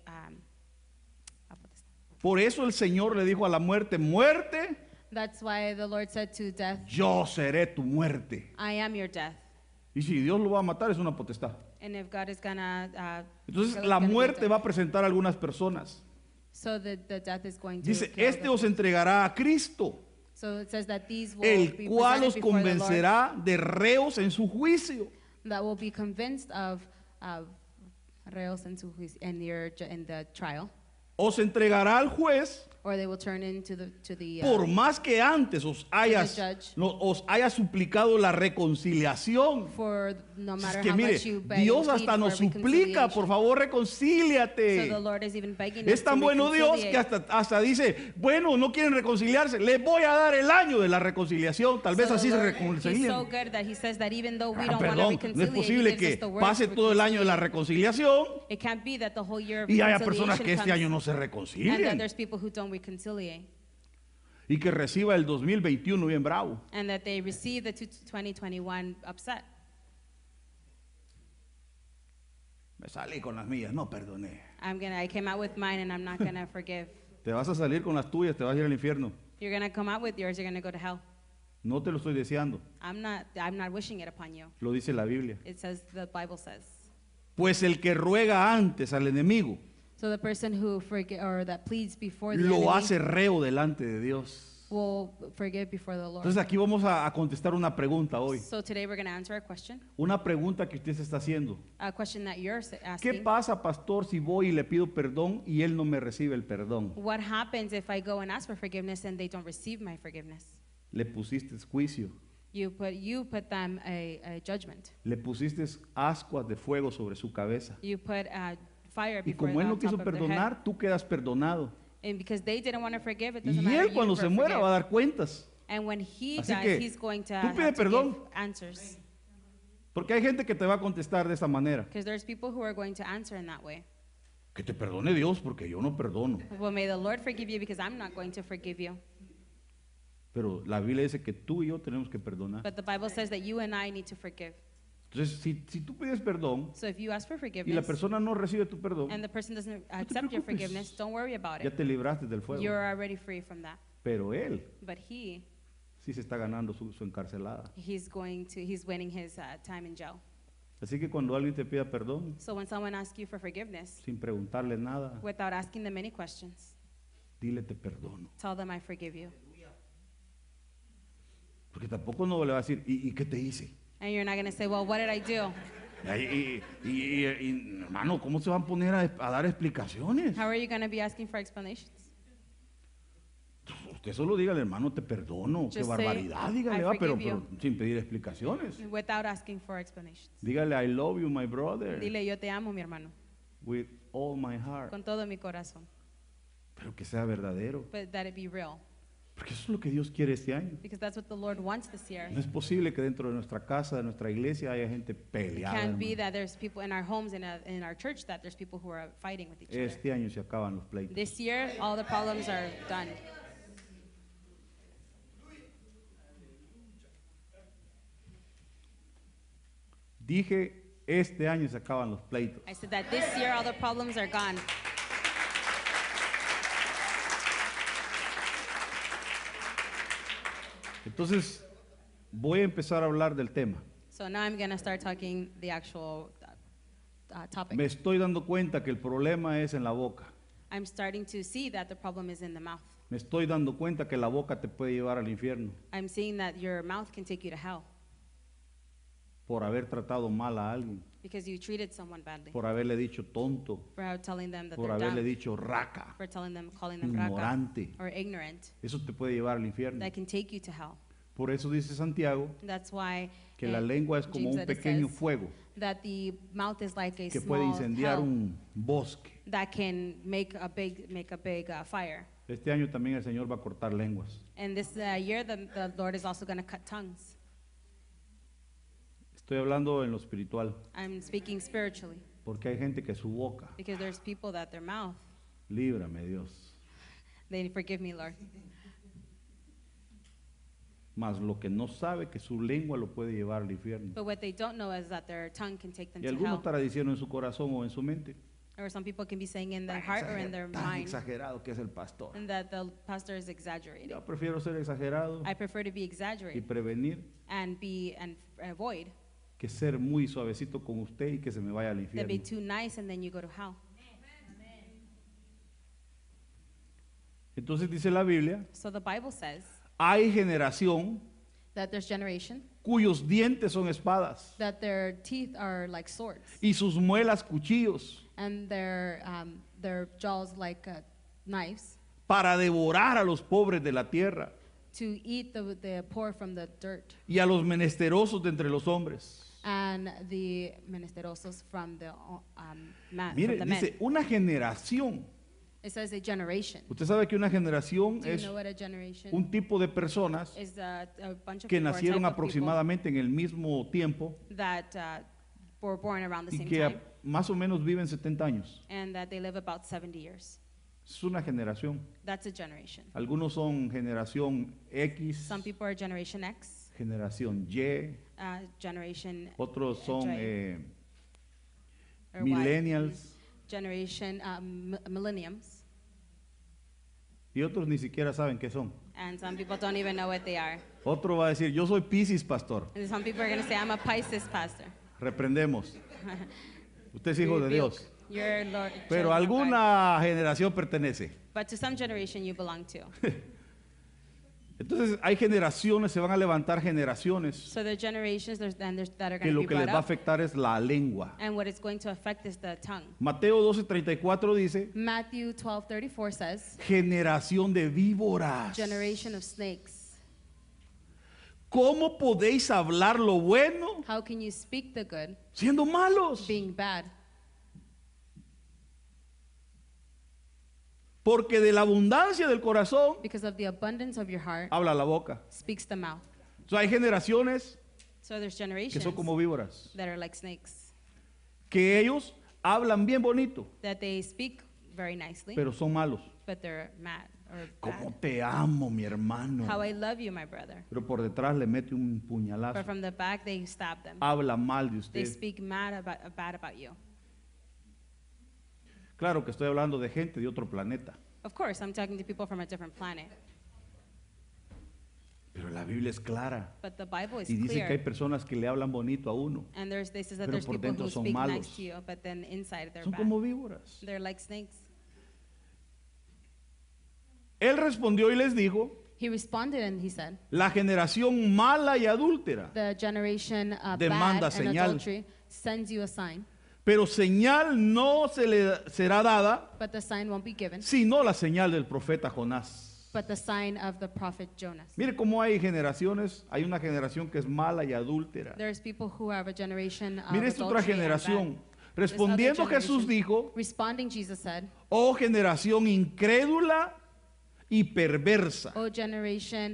Por eso el Señor le dijo a la muerte, muerte, That's why the Lord said to death, yo seré tu muerte. I am your death. Y si Dios lo va a matar, es una potestad. And if God is gonna, Entonces really la gonna do muerte that. va a presentar a algunas personas. So the death is going to Dice, kill este the os entregará a Cristo, So it says that these will el be cual presented os before the Lord, convencerá de reos en su juicio. that will be convinced of reos in the trial, Os entregará al juez, or they will turn into the por más que antes os haya judge. suplicado la reconciliación. for no Es matter que how mire, much you beg Dios and hasta plead nos for suplica, por reconciliation. favor, So reconcíliate. the Lord is even begging Es us tan to bueno Dios que reconciliate. hasta dice, bueno, no quieren reconciliarse, les voy a dar el año de la reconciliación, tal vez So así the se Lord, He's so reconcilien. good that He says that even though we Ah, don't want to perdón, no es reconcile, posible He gives us que the words pase to todo el año de la reconciliate. reconciliación It can't be that the whole year of y haya personas reconciliation que este año comes no se and that reconcilien there's people who don't reconcile y que reciba el 2021 bien bravo. and that they receive the 2021 upset. Me salí con las mías, no perdoné. I came out with mine and I'm not gonna forgive. Te vas a salir con las tuyas, te vas a ir al infierno. You're gonna come out with yours, you're gonna go to hell. No te lo estoy deseando, I'm not wishing it upon you. lo dice la Biblia. It says, the Bible says. Pues el que ruega antes al enemigo, So the person who that pleads before the lo enemy hace reo delante de Dios. will forgive before the Lord. Entonces aquí vamos a contestar una pregunta hoy. So today we're gonna answer a question Una pregunta que usted se está haciendo. a question that you're ¿Qué asking. pasa, pastor, si voy y le pido perdón y él no me recibe el perdón? What happens if I go and ask for forgiveness and they don't receive my forgiveness? Le pusiste juicio, You put them a judgment. le pusiste ascuas de fuego sobre su cabeza. You put fire Y before como él the no quiso top of their head. perdonar, tú quedas perdonado. And because they didn't want to forgive, it doesn't Y matter. él cuando se muera va a dar cuentas. And when he Así dies, que, he's going to tú pide have to perdón. give answers. Porque hay gente que te va a contestar de esta manera. Because there's people who are going to answer in that way. Que te perdone Dios porque yo no perdono. Well, may the Lord forgive you because I'm not going to forgive you. Pero la Biblia dice que tú y yo tenemos que perdonar. But the Bible says that you and I need to forgive. Entonces, si tú pides perdón So if you ask for y la forgiveness persona no recibe tu perdón, and the person doesn't accept your preocupes. forgiveness, don't worry about ya it. te libraste del fuego. You're already free from that. Pero él But he, sí se está ganando su encarcelada. he's winning his time in jail. Así que cuando alguien te pida perdón, So when someone asks you for forgiveness, sin preguntarle nada, without asking them any questions, dile te perdono. tell them I forgive you. Porque tampoco no le va a decir, ¿y qué te hice? And you're not going to say, well, what did I do? Hermano, ¿cómo se van a poner a dar explicaciones? How are you going to be asking for explanations? Usted solo dígale, hermano, te perdono. Qué Just say, barbaridad, "I dígale, va, pero forgive you." sin pedir explicaciones. Without asking for explanations. Dígale, I love you, my brother, Dile, yo te amo, mi hermano, with all my heart. con todo mi corazón. Pero que sea verdadero. But that it be real. Porque eso es lo que Dios quiere este año. Because that's what the Lord wants this year. No es posible que dentro de nuestra casa, de nuestra iglesia, haya gente It peleada. can't be hermano. that there's people in our homes and in our church that there's people who are fighting with each other. Este año se acaban los pleitos. This year, all the problems are done. Dije, este año se acaban los pleitos. I said that this year, all the problems are gone. Entonces, voy a empezar a hablar del tema. So now I'm going to start talking the actual topic. Me estoy dando cuenta que el problema es en la boca. I'm starting to see that the problem is in the mouth. Me estoy dando cuenta que la boca te puede llevar al infierno I'm seeing that your mouth can take you to hell por haber tratado mal a alguien, because you treated someone badly, por haberle dicho tonto, for telling them that por they're haberle dumb, dicho raca, for calling them raka ignorante. or ignorant. Eso te puede llevar al infierno. That can take you to hell. Por eso dice Santiago That's why que la lengua es como James un that it pequeño says fuego that the mouth is like a que puede small incendiar hell un bosque. that can make a big fire. Este año también el Señor va a cortar lenguas. And this year, the Lord is also going to cut tongues. Estoy hablando en lo espiritual, I'm speaking spiritually porque hay gente que su boca, because there's people that their mouth, líbrame Dios, they forgive me, Lord. mas lo que no sabe que su lengua lo puede llevar al infierno. But what they don't know is that their tongue can take them Y to alguno hell. estará diciendo en su corazón o en su mente, Or some people can be saying in their heart or in their tan mind, exagerado que es el pastor. and that the pastor is exaggerating. Yo prefiero ser exagerado I prefer to be y exaggerated prevenir and avoid que ser muy suavecito con usted y que se me vaya al than be infierno. too nice and then you go to hell. Entonces dice la Biblia, So the Bible says hay generación that there's generation, cuyos dientes son espadas that their teeth are like swords, y sus muelas cuchillos and their jaws like knives, para devorar a los pobres de la tierra to eat the poor from the dirt, y a los menesterosos de entre los hombres. and the menesterosos from the Mire, from the men. dice una generación. It says a generation. Usted sabe que una generación Do you es know what a generation un tipo de personas is? A bunch of que people, or a nacieron type of aproximadamente en el mismo tiempo people that were born around the y same que time, más o menos viven 70 años. and that they live about 70 years. Es una generación. That's a generation. Algunos son generación X, Some people are Generation X, generación Y, Generation otros son or Y, millennials Generation Millenniums, y otros ni siquiera saben qué son. and some people don't even know what they are. Otro va a decir, yo soy Piscis, pastor. And some people are going to say, I'm a Pisces pastor. Reprendemos. Usted es hijo de Rebuke. Dios. You're Lord, Pero children of God. alguna generación pertenece. But to some generation you belong to. Entonces hay generaciones, se van a levantar generaciones So there are generations that are que going to lo be que les brought va a up, afectar es la lengua. and what it's going to affect is the tongue. Mateo 12:34 dice, Matthew 12:34 says, generación de víboras. generation of snakes. ¿Cómo podéis hablar lo bueno How can you speak the good, siendo malos? being bad? Porque de la abundancia del corazón Because of the abundance of your heart habla la boca. speaks the mouth. O sea, hay generaciones So there's que generations son como víboras, that are like snakes, que ellos hablan bien bonito, that they speak very nicely, pero son malos. but they're mad or ¿Cómo bad. te amo, mi hermano? How I love you, my brother. Pero por detrás le mete un But puñalazo. from the back, they stab them. Habla mal de They usted. speak bad about you. Claro que estoy hablando de gente de otro planeta. Of course, I'm talking to people from a different planet. Pero la Biblia es clara. But the Bible is Y dice que hay clear. personas que le hablan bonito a uno. And they says that pero there's por people dentro who son speak malos. nice to you, but then inside they're Son bad. como víboras. They're like snakes. Él respondió y les dijo, He responded and he said, la generación mala y adúltera the generation demanda bad and señal. adultery sends you a sign, Pero señal no se le será dada, but the sign won't be given, sino la señal del profeta Jonás. but the sign of the prophet Jonas. Mire cómo hay generaciones, hay una generación que es mala y adúltera. There's people who have a generation of Mire esta otra adultery and generación. bad. Respondiendo This other Jesús generation. dijo, Responding, Jesus said, oh generación incrédula y perversa. "O generation,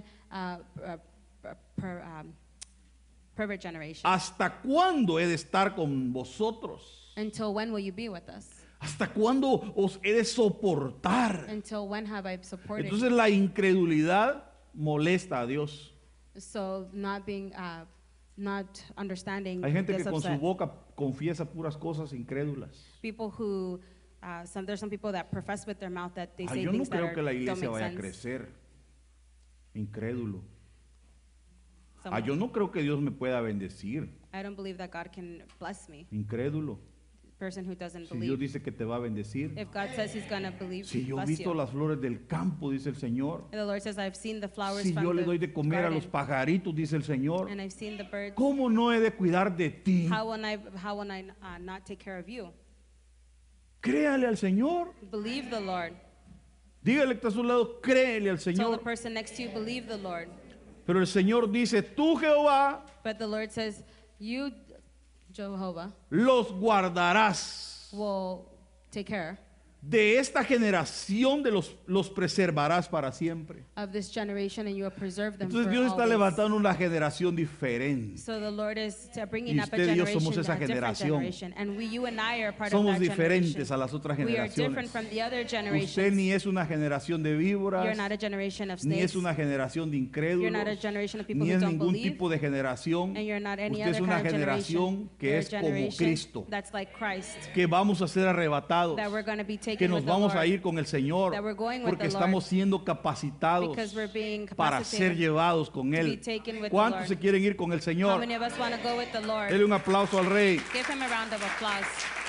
pervert generation, ¿Hasta cuándo he de estar con vosotros? until when will you be with us? ¿Hasta cuándo os he de soportar? Until when have I supported Entonces la incredulidad molesta a Dios. you?" So not being, not understanding Hay gente que gets con su upset. boca confiesa puras cosas incrédulas. People who, there's some people that profess with their mouth that they say Yo no things that creo que la don't iglesia make vaya a sense. crecer. Incrédulo. Some- Yo no creo que Dios me pueda bendecir. I don't believe that God can bless me. Incrédulo. Person who doesn't Si Dios believe. dice que te va a bendecir. If God says He's gonna believe, Si yo he bless visto you. las flores del campo, dice el Señor. And the Lord says, I've seen the flowers Si from yo le the doy de comer a garden, los pajaritos, dice el Señor. and I've seen the birds. ¿Cómo no he de cuidar de ti? How will I not take care of you? Créale al Señor. Believe the Lord. Dígale que está a su lado, créele al Tell the Señor. person next to you, believe the Lord. Pero el Señor dice, tú Jehová, But the Lord says, you, Jehovah los guardarás. will take care De esta generación los preservarás para siempre. of this generation, and you will preserve them Entonces for Dios está always. levantando una generación diferente. So the Lord is bringing Y up a usted y yo generation, somos esa a different generación. generation. And you and I are part Somos of that diferentes generation. a las otras We are different generaciones. from the other Usted generations. ni es una generación de víboras, You're not a generation of ni es snakes. una generación de You're not a incrédulos, generation of people ni who es don't ningún believe. tipo de generación. And you're not any Usted es other una kind of generación generation. que You're a es como generation Cristo, that's like Christ. que vamos a ser arrebatados, That we're going to be taken que nos with the vamos a Lord. ir con el Señor, That we're going with porque the Lord. estamos siendo capacitados Because we're being para capacitated ser llevados con to be Él. taken with the ¿Cuántos Lord? se quieren ir con el How Señor? many of us want to go with the Lord? Dele un aplauso al Rey. Give him a round of applause.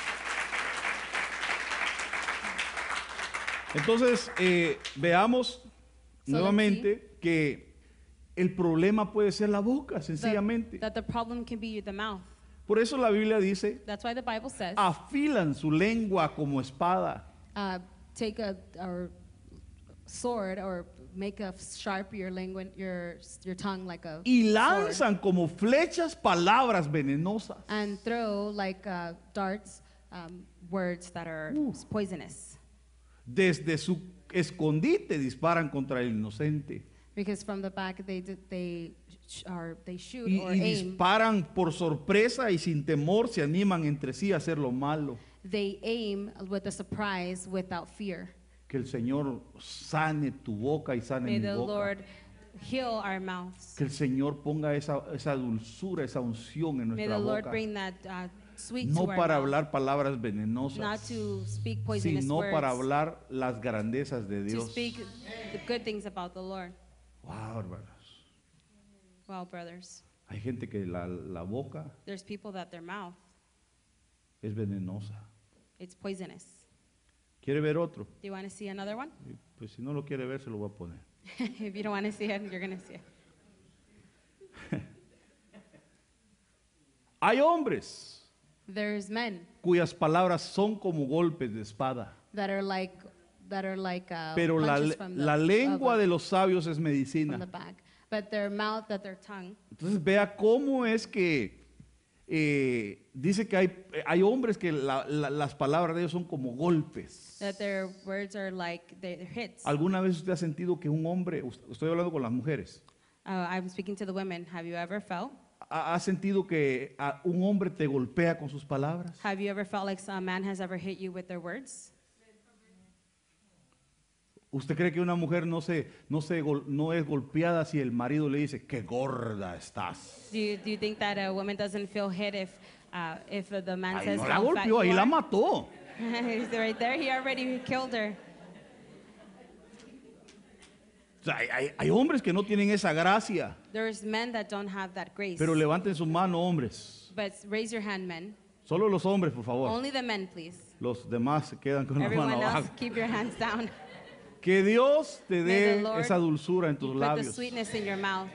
Entonces, veamos So nuevamente que el problema puede ser la boca, sencillamente. That the problem can be the mouth. Por eso la Biblia dice, That's why the Bible says, afilan su lengua como espada. take a sword or make a sharp your language, your tongue like a Y sword, lanzan como flechas palabras venenosas. and throw like darts. words that are poisonous. Desde su escondite disparan contra el inocente. Because from the back they shoot Y or aim. disparan por sorpresa y sin temor se animan entre sí a hacer lo malo. They aim with a surprise without fear. Que el Señor sane tu boca y sane May mi the boca. Lord heal our mouths. Que el Señor ponga esa dulzura, esa unción en May nuestra the Lord boca. bring that sweet No to our para mouth. hablar palabras Not venenosas, to speak poisonous sino words. para hablar las grandezas de To Dios. speak the good things about the Lord. Wow, hermanos. Well, brothers, Hay gente que la boca there's people that their mouth, es venenosa. it's poisonous. ¿Quiere ver otro? Do you want to see another one? Pues si no lo quiere ver, se lo voy a poner. If you don't want to see it, you're going to see it. Hay hombres There's men cuyas palabras son como golpes de espada. that are like Pero punches from la lengua de los sabios es from the medicina. back, but their mouth, that their tongue. Entonces vea cómo es que dice que hay hombres que las palabras de ellos son como golpes. That their words are like they're hits. ¿Alguna vez usted ha sentido que un hombre, estoy hablando con las mujeres, I'm speaking to the women. Have you ever felt? ha sentido que un hombre te golpea con sus palabras? Have you ever felt like a man has ever hit you with their words? ¿Usted cree que una mujer no es golpeada si el marido le dice, qué gorda estás? Do you think that a woman doesn't feel hit if the man Ahí says no la how fat golpeó, ahí you la are? mató. He's right there. He already killed her. O sea, hay hombres que no tienen esa gracia. There's men that don't have that grace. Pero levanten su mano, hombres. But raise your hand, men. Solo los hombres, por favor. Only the men, please. Los demás se quedan con la Everyone mano else, abajo. keep your hands down. Que Dios te May dé the Lord esa dulzura en tus Put the labios. sweetness in your mouth.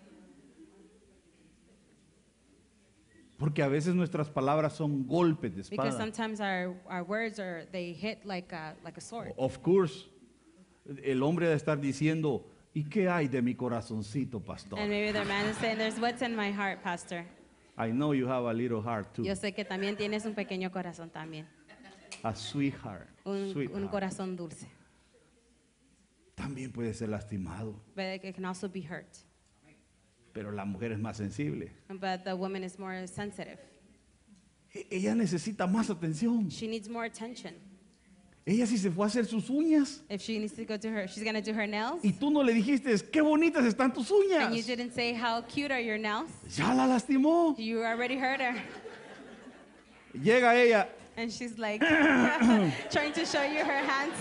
Porque a veces nuestras palabras son golpes de Because espada. sometimes our words they hit like a sword. Of course, el hombre debe estar diciendo, ¿y qué hay de mi corazoncito, pastor? And maybe their man is saying, there's what's in my heart, pastor. I know you have a little heart too. Yo sé que también tienes un pequeño corazón también. A sweetheart. Un Sweetheart. corazón dulce. También puede ser lastimado. But it can also be hurt. Pero la mujer es más sensible. But the woman is more sensitive. Ella necesita más atención. She needs more attention. Ella si se fue a hacer sus uñas If she needs to go to she's going to do her nails. y tú no le dijiste, qué bonitas están tus uñas. And you didn't say how cute are your nails. Ya la lastimó. You already hurt her. Llega ella, And she's like trying to show you her hands.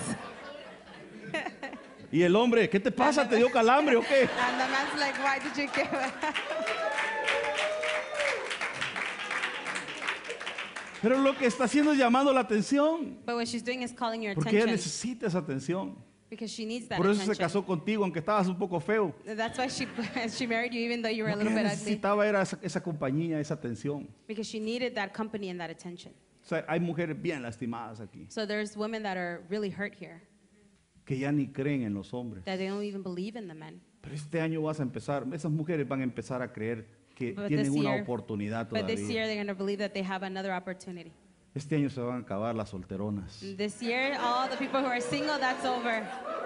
y el hombre, ¿qué te pasa? ¿Te dio calambre o qué? And the man's like, why did you give it? Pero lo que está haciendo es llamando la atención. But what she's doing is calling your Porque ella attention. necesita esa atención. Because she needs that Por eso se attention. casó contigo, aunque estabas un poco feo. That's why she married you even though you were a Lo que little ella bit ugly. necesitaba era esa compañía, esa atención. Because she needed that company and that attention. O sea, hay mujeres bien lastimadas aquí, So there's women that are really hurt here. que ya ni creen en los hombres. That they don't even believe in the men. Pero este año vas a empezar, esas mujeres van a empezar a creer que But tienen this una year- oportunidad But this todavía. year, they're going to believe that they have another opportunity. Este año se van a acabar las solteronas. This year, all the people who are single, that's over.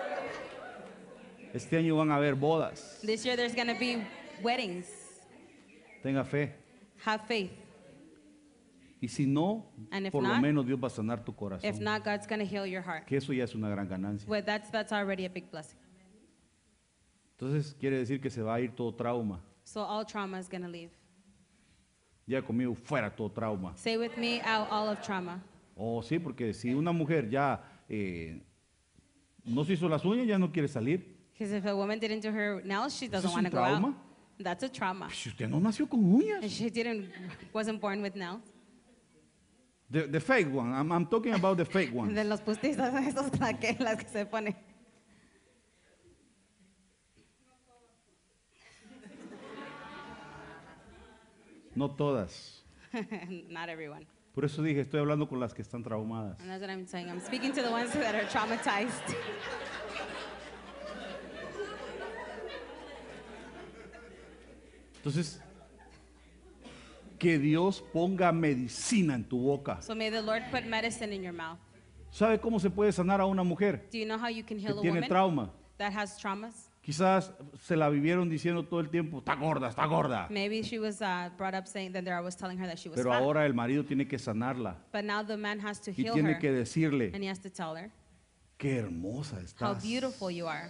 Este año van a haber bodas. This year, there's going to be weddings. Tenga fe. Have faith. Y si no, And if por lo not- menos Dios va a sanar tu If corazón. not, God's going to heal your heart. Que eso ya es una gran ganancia. Well, that's already a big blessing. Entonces quiere decir que se va a ir todo trauma. So all trauma is going to leave. Ya conmigo fuera todo trauma. Say with me, out all of trauma. Oh, sí, porque si una mujer ya no se hizo las uñas, ya no quiere salir. Because if a woman didn't do her nails, she ¿Eso doesn't es want un to go out. trauma? That's a trauma. Si usted no nació con uñas. She wasn't born with nails. The fake one. I'm talking about the fake De ones. los postizos, esos las que se pone. No todas. Not everyone. Por eso dije, estoy hablando con las que están traumadas. And that's what I'm saying. I'm speaking to the ones that are traumatized. Entonces, que Dios ponga medicina en tu boca. So may the Lord put medicine in your mouth. ¿Sabe cómo se puede sanar a una mujer Do you know how you can que heal a tiene woman trauma? that has traumas? Quizás se la vivieron diciendo todo el tiempo, está gorda, está gorda. Maybe she was brought up saying that I was telling her that she was Pero fat. ahora el marido tiene que sanarla But now the man has to y heal tiene her. que decirle, And he has to tell her qué hermosa how estás. beautiful you are.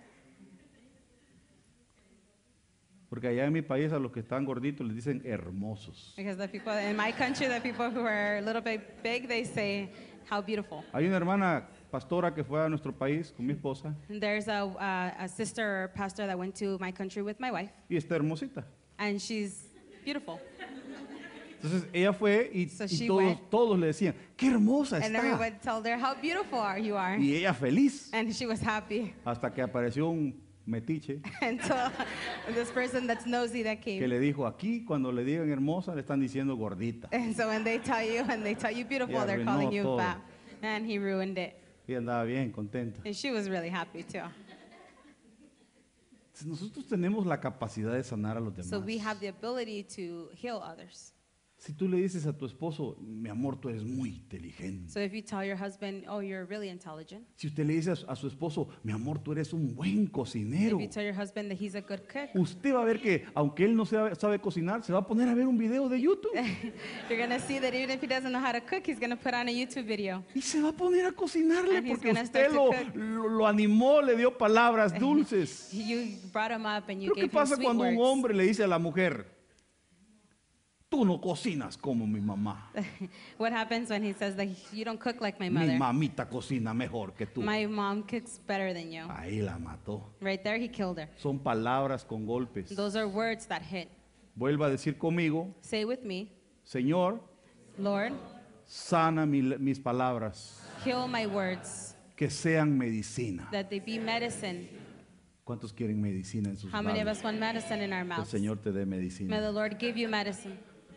Porque allá en mi país a los que están gorditos les dicen hermosos. Because the people in my country, the people who are a little bit big, they say, how beautiful. Hay una hermana pastora que fue a nuestro país con mi esposa And there's a sister or pastor that went to my country with my wife, y está hermosita. and she's beautiful. Entonces ella fue y, So y she todos, went. todos le decían, qué hermosa And está. everyone told her, how beautiful you are. Y ella feliz And she was happy. hasta que apareció un metiche Until this person that's nosy that que came. le dijo, aquí cuando le digan hermosa le están diciendo gordita. And so when they tell you beautiful, Y they're arruinó calling you todo. fat. And he ruined it. Y andaba bien contenta. And she was really happy too. Entonces, nosotros tenemos la capacidad de sanar a los demás. So we have the ability to heal others. Si tú le dices a tu esposo, mi amor, tú eres muy inteligente. So if you tell your husband, oh, you're really intelligent. Si usted le dice a su esposo, mi amor, tú eres un buen cocinero. If you tell your husband that he's a good cook, Usted va a ver que, aunque él no sabe cocinar, se va a poner a ver un video de YouTube you're going to see that even if he doesn't know how to cook, he's going to put on a YouTube video. y se va a poner a cocinarle And he's porque gonna usted start to cook. lo animó, le dio palabras dulces. You brought him up and you Pero ¿qué gave him pasa sweet cuando un words. hombre le dice a la mujer, tú no cocinas como mi mamá? What happens when he says that you don't cook like my Mi mother? mamita cocina mejor que tú. My mom cooks better than you. Ahí la mató. Right there, he killed her. Son palabras con golpes. Those are words that hit. Vuelva a decir conmigo, Say with me, Señor, Lord, sana mis palabras, heal my words, que sean medicina. that they be medicine. ¿Cuántos quieren medicina en sus How many of labios? us want medicine in our Que el mouths? Señor te dé May medicina. the Lord give you medicine.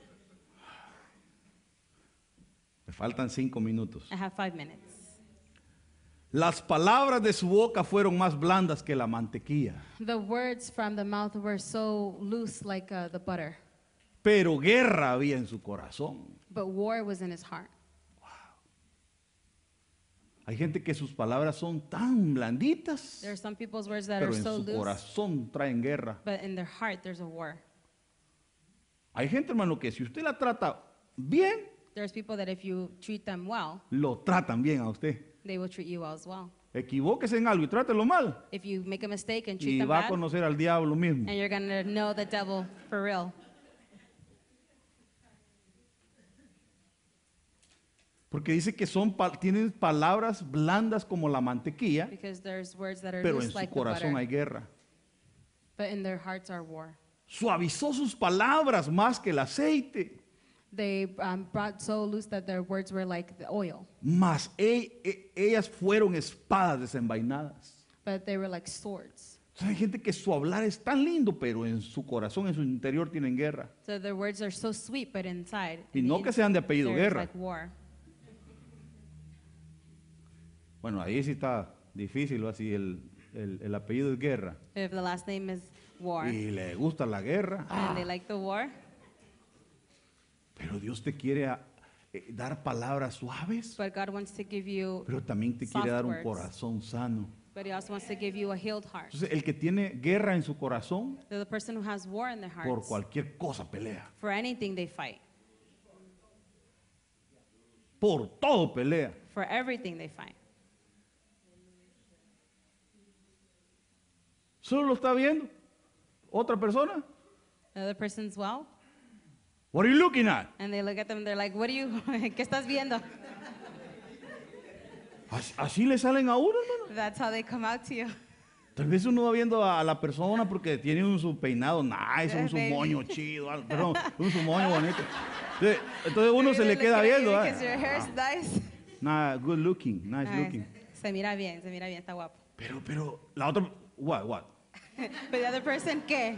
Me faltan 5 minutos. I have 5 minutes. Las palabras de su boca fueron más blandas que la mantequilla, The words from the mouth were so loose like the butter, pero guerra había en su corazón. but war was in his heart. Hay gente que sus palabras son tan blanditas, There are some people's words that pero are en so su loose, corazón traen guerra. but in their heart there's a war. Hay gente, hermano, que si usted la trata bien, There's people that if you treat them well, lo tratan bien a usted. they will treat you well as well. Equivóquese en algo y trátelo mal. If you make a mistake and treat Y them va a bad, conocer al diablo mismo. and you're going to know the devil for real. Porque dice que tienen palabras blandas como la mantequilla, Because there's words that are pero en loose su like the corazón hay butter, guerra. But in their hearts are war. Suavizó sus palabras más que el aceite. They brought so loose that their words were like the oil, Mas ellas fueron espadas desenvainadas. but they were like swords. Entonces, hay gente que su hablar es tan lindo, pero en su corazón, en su interior tienen guerra. So their words are so sweet, but inside, Y in no the que sean de apellido there's Guerra. like war. Bueno, ahí sí está difícil, o así el apellido es Guerra. If the last name is war. y le gusta la guerra. And they like the war. Pero Dios te quiere dar palabras suaves, But God wants to give you, pero también te quiere soft dar un words. corazón sano. but He also wants to give you a healed heart. Entonces, el que tiene guerra en su corazón, They're the person who has war in their por hearts. cualquier cosa pelea. For anything they fight. Por todo pelea. For everything they fight. ¿Solo lo está viendo otra persona? The other person's well, What are you looking at? and they look at them, they're like, what are you, ¿qué estás viendo? Así le salen a uno, hermano. That's how they come out to you. Tal vez uno va viendo a la persona porque tiene su peinado nice, un su Maybe. moño chido, perdón, un su moño bonito. Entonces uno se le queda viendo. Because your hair's nice. Nah, good looking, nice looking. Se mira bien, está guapo. Pero la otra, what? But the other person, ¿qué?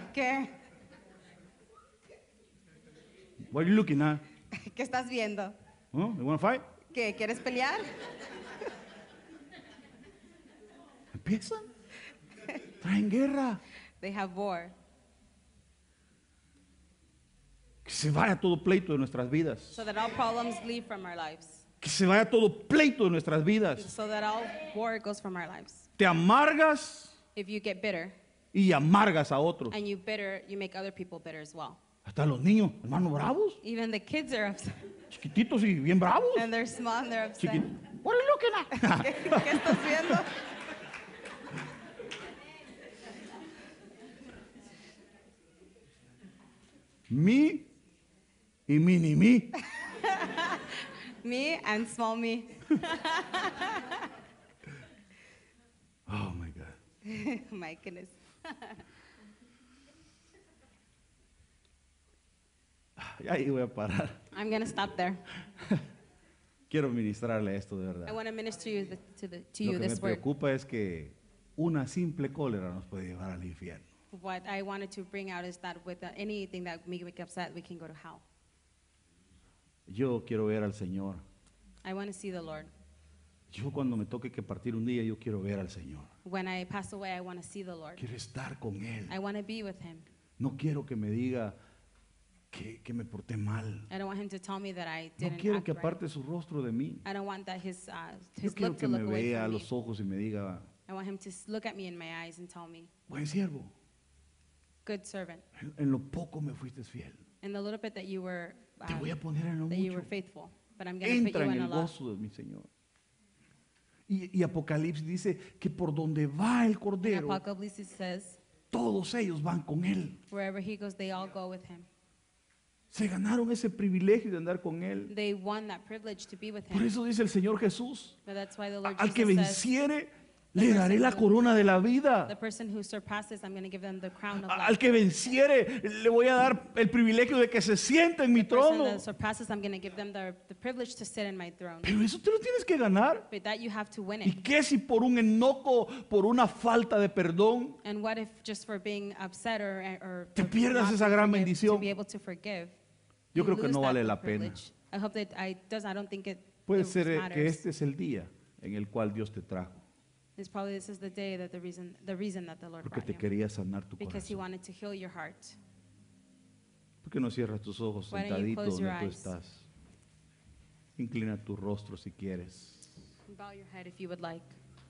What are you looking at? ¿Qué estás viendo? Huh? You want to fight? ¿Qué? ¿Quieres pelear? Empiezan. Traen guerra. They have war. Que se vaya todo pleito de nuestras vidas. So that all problems leave from our lives. Que se vaya todo pleito de nuestras vidas. So that all war goes from our lives. Te amargas If you get bitter, y amargas a otros. and you make other people bitter as well. Hasta los niños, hermanos bravos, Even the kids are upset. chiquititos y bien bravos. And they're small and they're upset. What are you looking at? ¿Qué estás viendo? Me y mini me. Me and small me. Oh my God. My goodness. Ya ahí voy a parar. I'm going to stop there. Quiero ministrarle esto de I verdad. want to minister you to Lo you que me this word. preocupa es que una simple cólera nos puede llevar al infierno. What I wanted to bring out is that with anything that make me upset, we can go to hell. Yo quiero ver al Señor. I want to see the Lord. Yo cuando me toque que partir un día, yo quiero ver al Señor. When I pass away, I want to see the Lord. Quiero estar con Él. I want to be with Him. No quiero que me diga que me porté mal. I don't want Him to tell me that I No didn't quiero act que right. aparte su rostro de mí. I don't want that His Yo quiero look que to me look away vea a from me. los ojos y me diga, I want Him to look at me in my eyes and tell me, buen siervo, good servant. en lo poco me fuiste fiel. In the little bit that you were Te voy a poner en lo that you were mucho. faithful, but I'm going to put Entra you en in a el lot. gozo de mi Señor. Y Apocalipsis dice que por donde va el And Cordero, Apocalypse says, todos ellos van con Él. wherever He goes, they all go with Him. Se ganaron ese privilegio de andar con Él. They won that privilege to be with Por Him. eso dice el Señor Jesús, But that's why the Lord al que Jesus says, venciere, le daré la corona de la the vida. person who surpasses, I'm going to give them the crown of Al life. que venciere, le voy a dar el privilegio de que se siente en mi The person trono. that surpasses, I'm going to give them the privilege to sit in my throne. Pero eso te lo tienes que ganar. But that you have to win ¿Y it. qué si por un enojo, por una falta de perdón, And what if just for being upset or Te for pierdas not esa gran to bendición? be able to forgive? Yo you creo que lose no that vale la pena. privilege. I hope that I don't think it Puede ser que matters. este es el día en el cual Dios te trajo, This is the day that the reason that the Lord porque brought te you. quería sanar tu Because He corazón. wanted to heal your heart. ¿Por qué no cierras tus ojos Why don't you sentadito close your donde tú eyes? estás? Inclina tu rostro si quieres. Bow your head if you would like.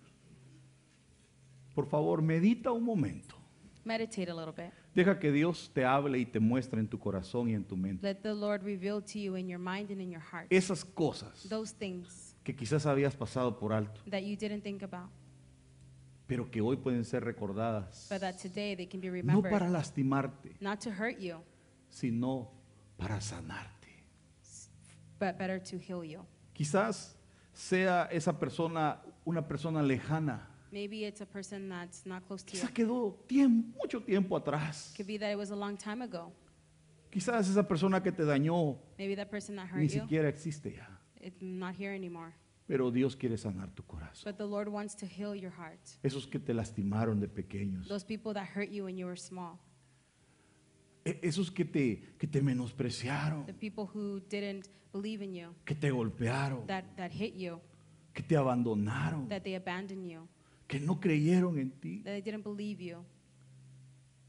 Por favor, medita un momento. Meditate a little bit. Deja que Dios te hable y te muestre en tu corazón y en tu mente Let the Lord reveal to you in your mind and in your heart esas cosas those things que quizás habías pasado por alto, that you didn't think about, pero que hoy pueden ser recordadas, but that today they can be no remembered, para lastimarte, not to hurt you, sino para sanarte. but better to heal you. Quizás sea esa persona una persona lejana. Maybe it's a person that's not close to you. Quizás quedó mucho tiempo atrás. Could be that it was a long time ago. Quizás esa persona que te dañó Maybe that person that ni hurt you, siquiera existe ya. it's not here anymore. Pero Dios quiere sanar tu corazón. But the Lord wants to heal your heart. Esos que te lastimaron de pequeños. Those people that hurt you when you were small. Esos que te menospreciaron. The people who didn't believe in you, Que te golpearon. that hit you, Que te abandonaron. that they abandoned you, Que no creyeron en ti. that they didn't believe you.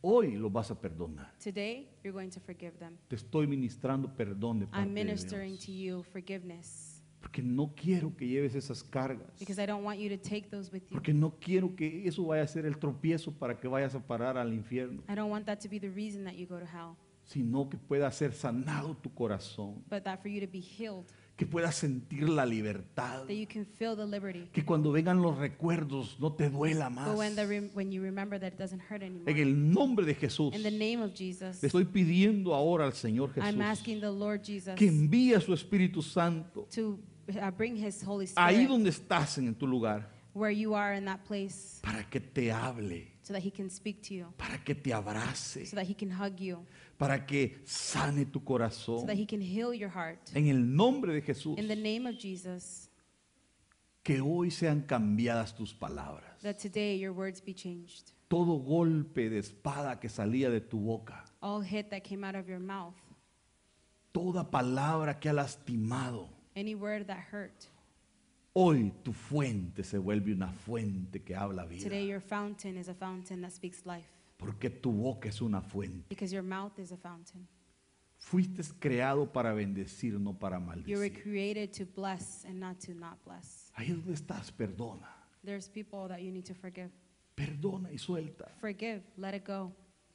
Hoy los vas a perdonar. Today, you're going to forgive them. Te estoy ministrando perdón de parte I'm de ministering Dios. to you forgiveness Porque no quiero que lleves esas cargas. because I don't want you to take those with you. Porque no quiero que eso vaya a ser el tropiezo para que vayas a parar al infierno. I don't want that to be the reason that you go to hell, Sino que pueda ser sanado tu corazón. but that for you to be healed, Que puedas sentir la libertad. that you can feel the liberty. Que cuando vengan los recuerdos no te duela más. But when you remember that it doesn't hurt anymore. En el nombre de Jesús. In the name of Jesus, Le estoy pidiendo ahora al Señor I'm Jesús asking the Lord Jesus que envíe a su Espíritu Santo to bring His Holy ahí Spirit donde estás en tu lugar where you are in that place para que te hable, so that He can speak to you, para que te abrace, so that He can hug you, para que sane tu so corazón. that He can heal your heart. En el nombre de Jesús, In the name of Jesus, que hoy sean cambiadas tus palabras. that today your words be changed. Todo golpe de espada que salía de tu boca, All hit that came out of your mouth, toda palabra que ha lastimado, any word that hurt, hoy tu fuente se vuelve una fuente que habla vida. today your fountain is a fountain that speaks life, Porque tu boca es una fuente. because your mouth is a fountain. Fuiste creado para bendecir, no para You were maldecir. created to bless and not to not bless. Ahí donde estás, perdona. There's people that you need to forgive. Perdona y suelta. Forgive, let it go.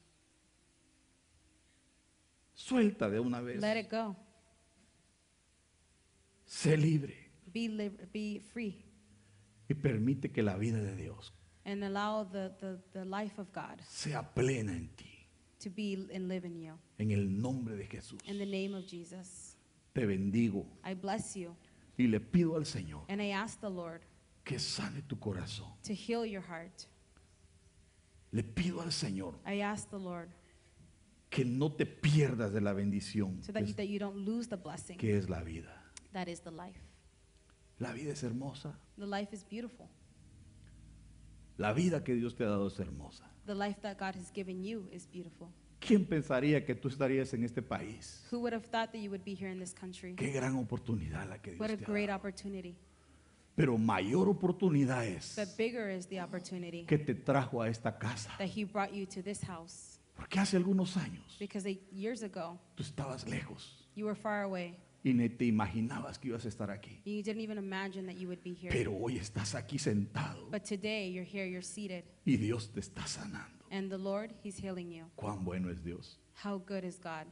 Suelta de una vez. Let it go. Sé libre Be free y permite que la vida de Dios and allow the life of God sea plena en ti. to be and live in you. En el nombre de Jesús. In the name of Jesus, Te bendigo I bless you y le pido al Señor and I ask the Lord que sane tu corazón. to heal your heart. Le pido al Señor I ask the Lord que no te pierdas de la bendición so that you don't lose the blessing que es la vida. that is the life. La vida es hermosa. The life is beautiful. La vida que Dios te ha dado es hermosa. The life that God has given you is beautiful. ¿Quién pensaría que tú estarías en este país? Who would have thought that you would be here in this country? Qué gran oportunidad la que Dios What a te ha great dado. opportunity. Pero mayor oportunidad es But bigger is the opportunity que te trajo a esta casa. that He brought you to this house. Porque hace algunos años Because years ago, tú estabas lejos you were far away. y ni te imaginabas que ibas a estar aquí. You didn't even imagine that you would be here. Pero hoy estás aquí sentado But today, you're here, you're seated, y Dios te está sanando. and the Lord, He's healing you. Cuán bueno es Dios. How good is God?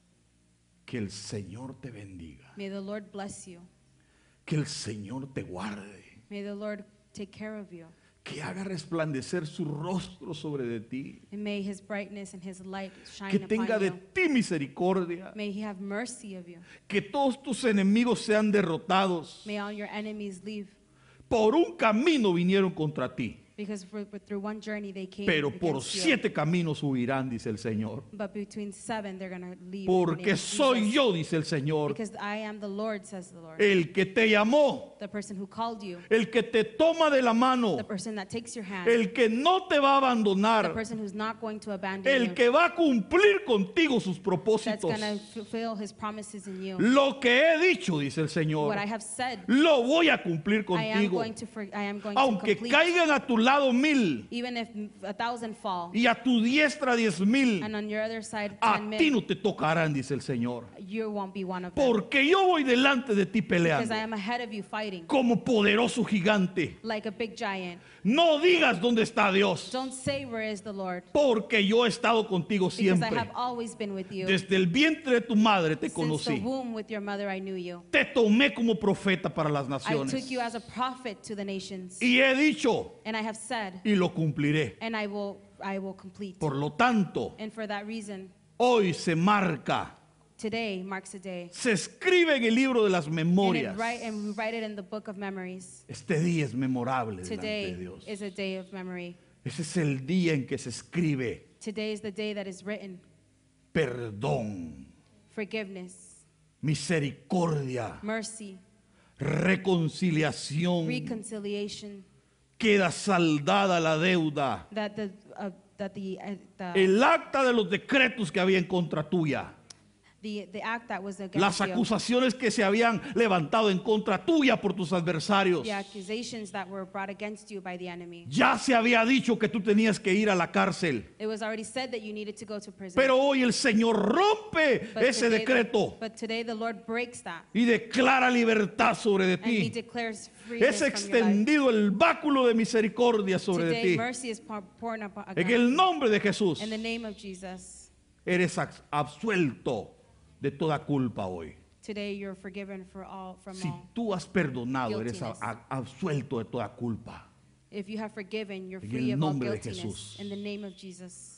Que el Señor te bendiga. May the Lord bless you. Que el Señor te guarde. May the Lord take care of you. Que haga resplandecer su rostro sobre de ti. And may His brightness and His light shine Que tenga upon de you. ti misericordia. May He have mercy of you. Que todos tus enemigos sean derrotados. May all your enemies leave. Por un camino vinieron contra ti, Because through one journey they came pero por against you. 7 caminos huirán, dice el Señor. But between 7 they're going to leave. in the name Porque of soy Jesus. yo, dice el Señor, Because I am the Lord, says the Lord. el que te llamó, The person who called you. el que te toma de la mano, The person that takes your hand. el que no te va a The abandonar, person who's not going to abandon el you. que va a cumplir contigo sus That's propósitos. going to fulfill His promises in you. Lo que he dicho, dice el Señor, What I have said, lo voy a cumplir I am contigo. going to Aunque complete. caigan a tu lado 1000 Even if 1,000 fall, y a tu diestra 10,000, and on your other side a 10 ti men, no te tocarán, dice el Señor. you won't be one of them. Porque yo voy delante de ti Because peleando I am ahead of you fighting como poderoso gigante. like a big giant. No digas dónde está Dios, Don't say, where is the Lord? porque yo he estado contigo Because I siempre. have always been with you. Desde el vientre de tu madre te Since the conocí. womb with your mother I knew you. Te tomé como profeta para las I naciones. took you as a prophet to the nations. Y he dicho, And I have said, y lo cumpliré. and I will complete. Por lo tanto, And for that reason, hoy se marca, today marks a day. se escribe en el libro de las memorias. And we write it in the book of memories. Este día es memorable delante de Today Dios. is a day of memory. Ese es el día en que se escribe Today is the day that is written. perdón, Forgiveness, misericordia, mercy, reconciliación. reconciliation, Queda saldada la deuda. that the El acta de los decretos que había en contra tuya the act that was las against you, acusaciones que se habían levantado en contra tuya por tus adversarios. the accusations that were brought against you by the enemy. Ya se había dicho que tú tenías que ir a la cárcel. It was already said that you needed to go to prison. Pero hoy el Señor rompe But ese today- decreto But today the Lord breaks that, y declara libertad sobre de and He ti. declares freedom Es from your life. extendido el báculo de misericordia sobre de Today ti. mercy is poured upon En el nombre de Jesús, in the name of Jesus. eres absuelto de toda culpa hoy. Today you're forgiven from Si all. tú has perdonado, eres Guiltiness. absuelto de toda culpa. If you have forgiven, you're En free el of all nombre de guiltiness. Jesús. In the name of Jesus.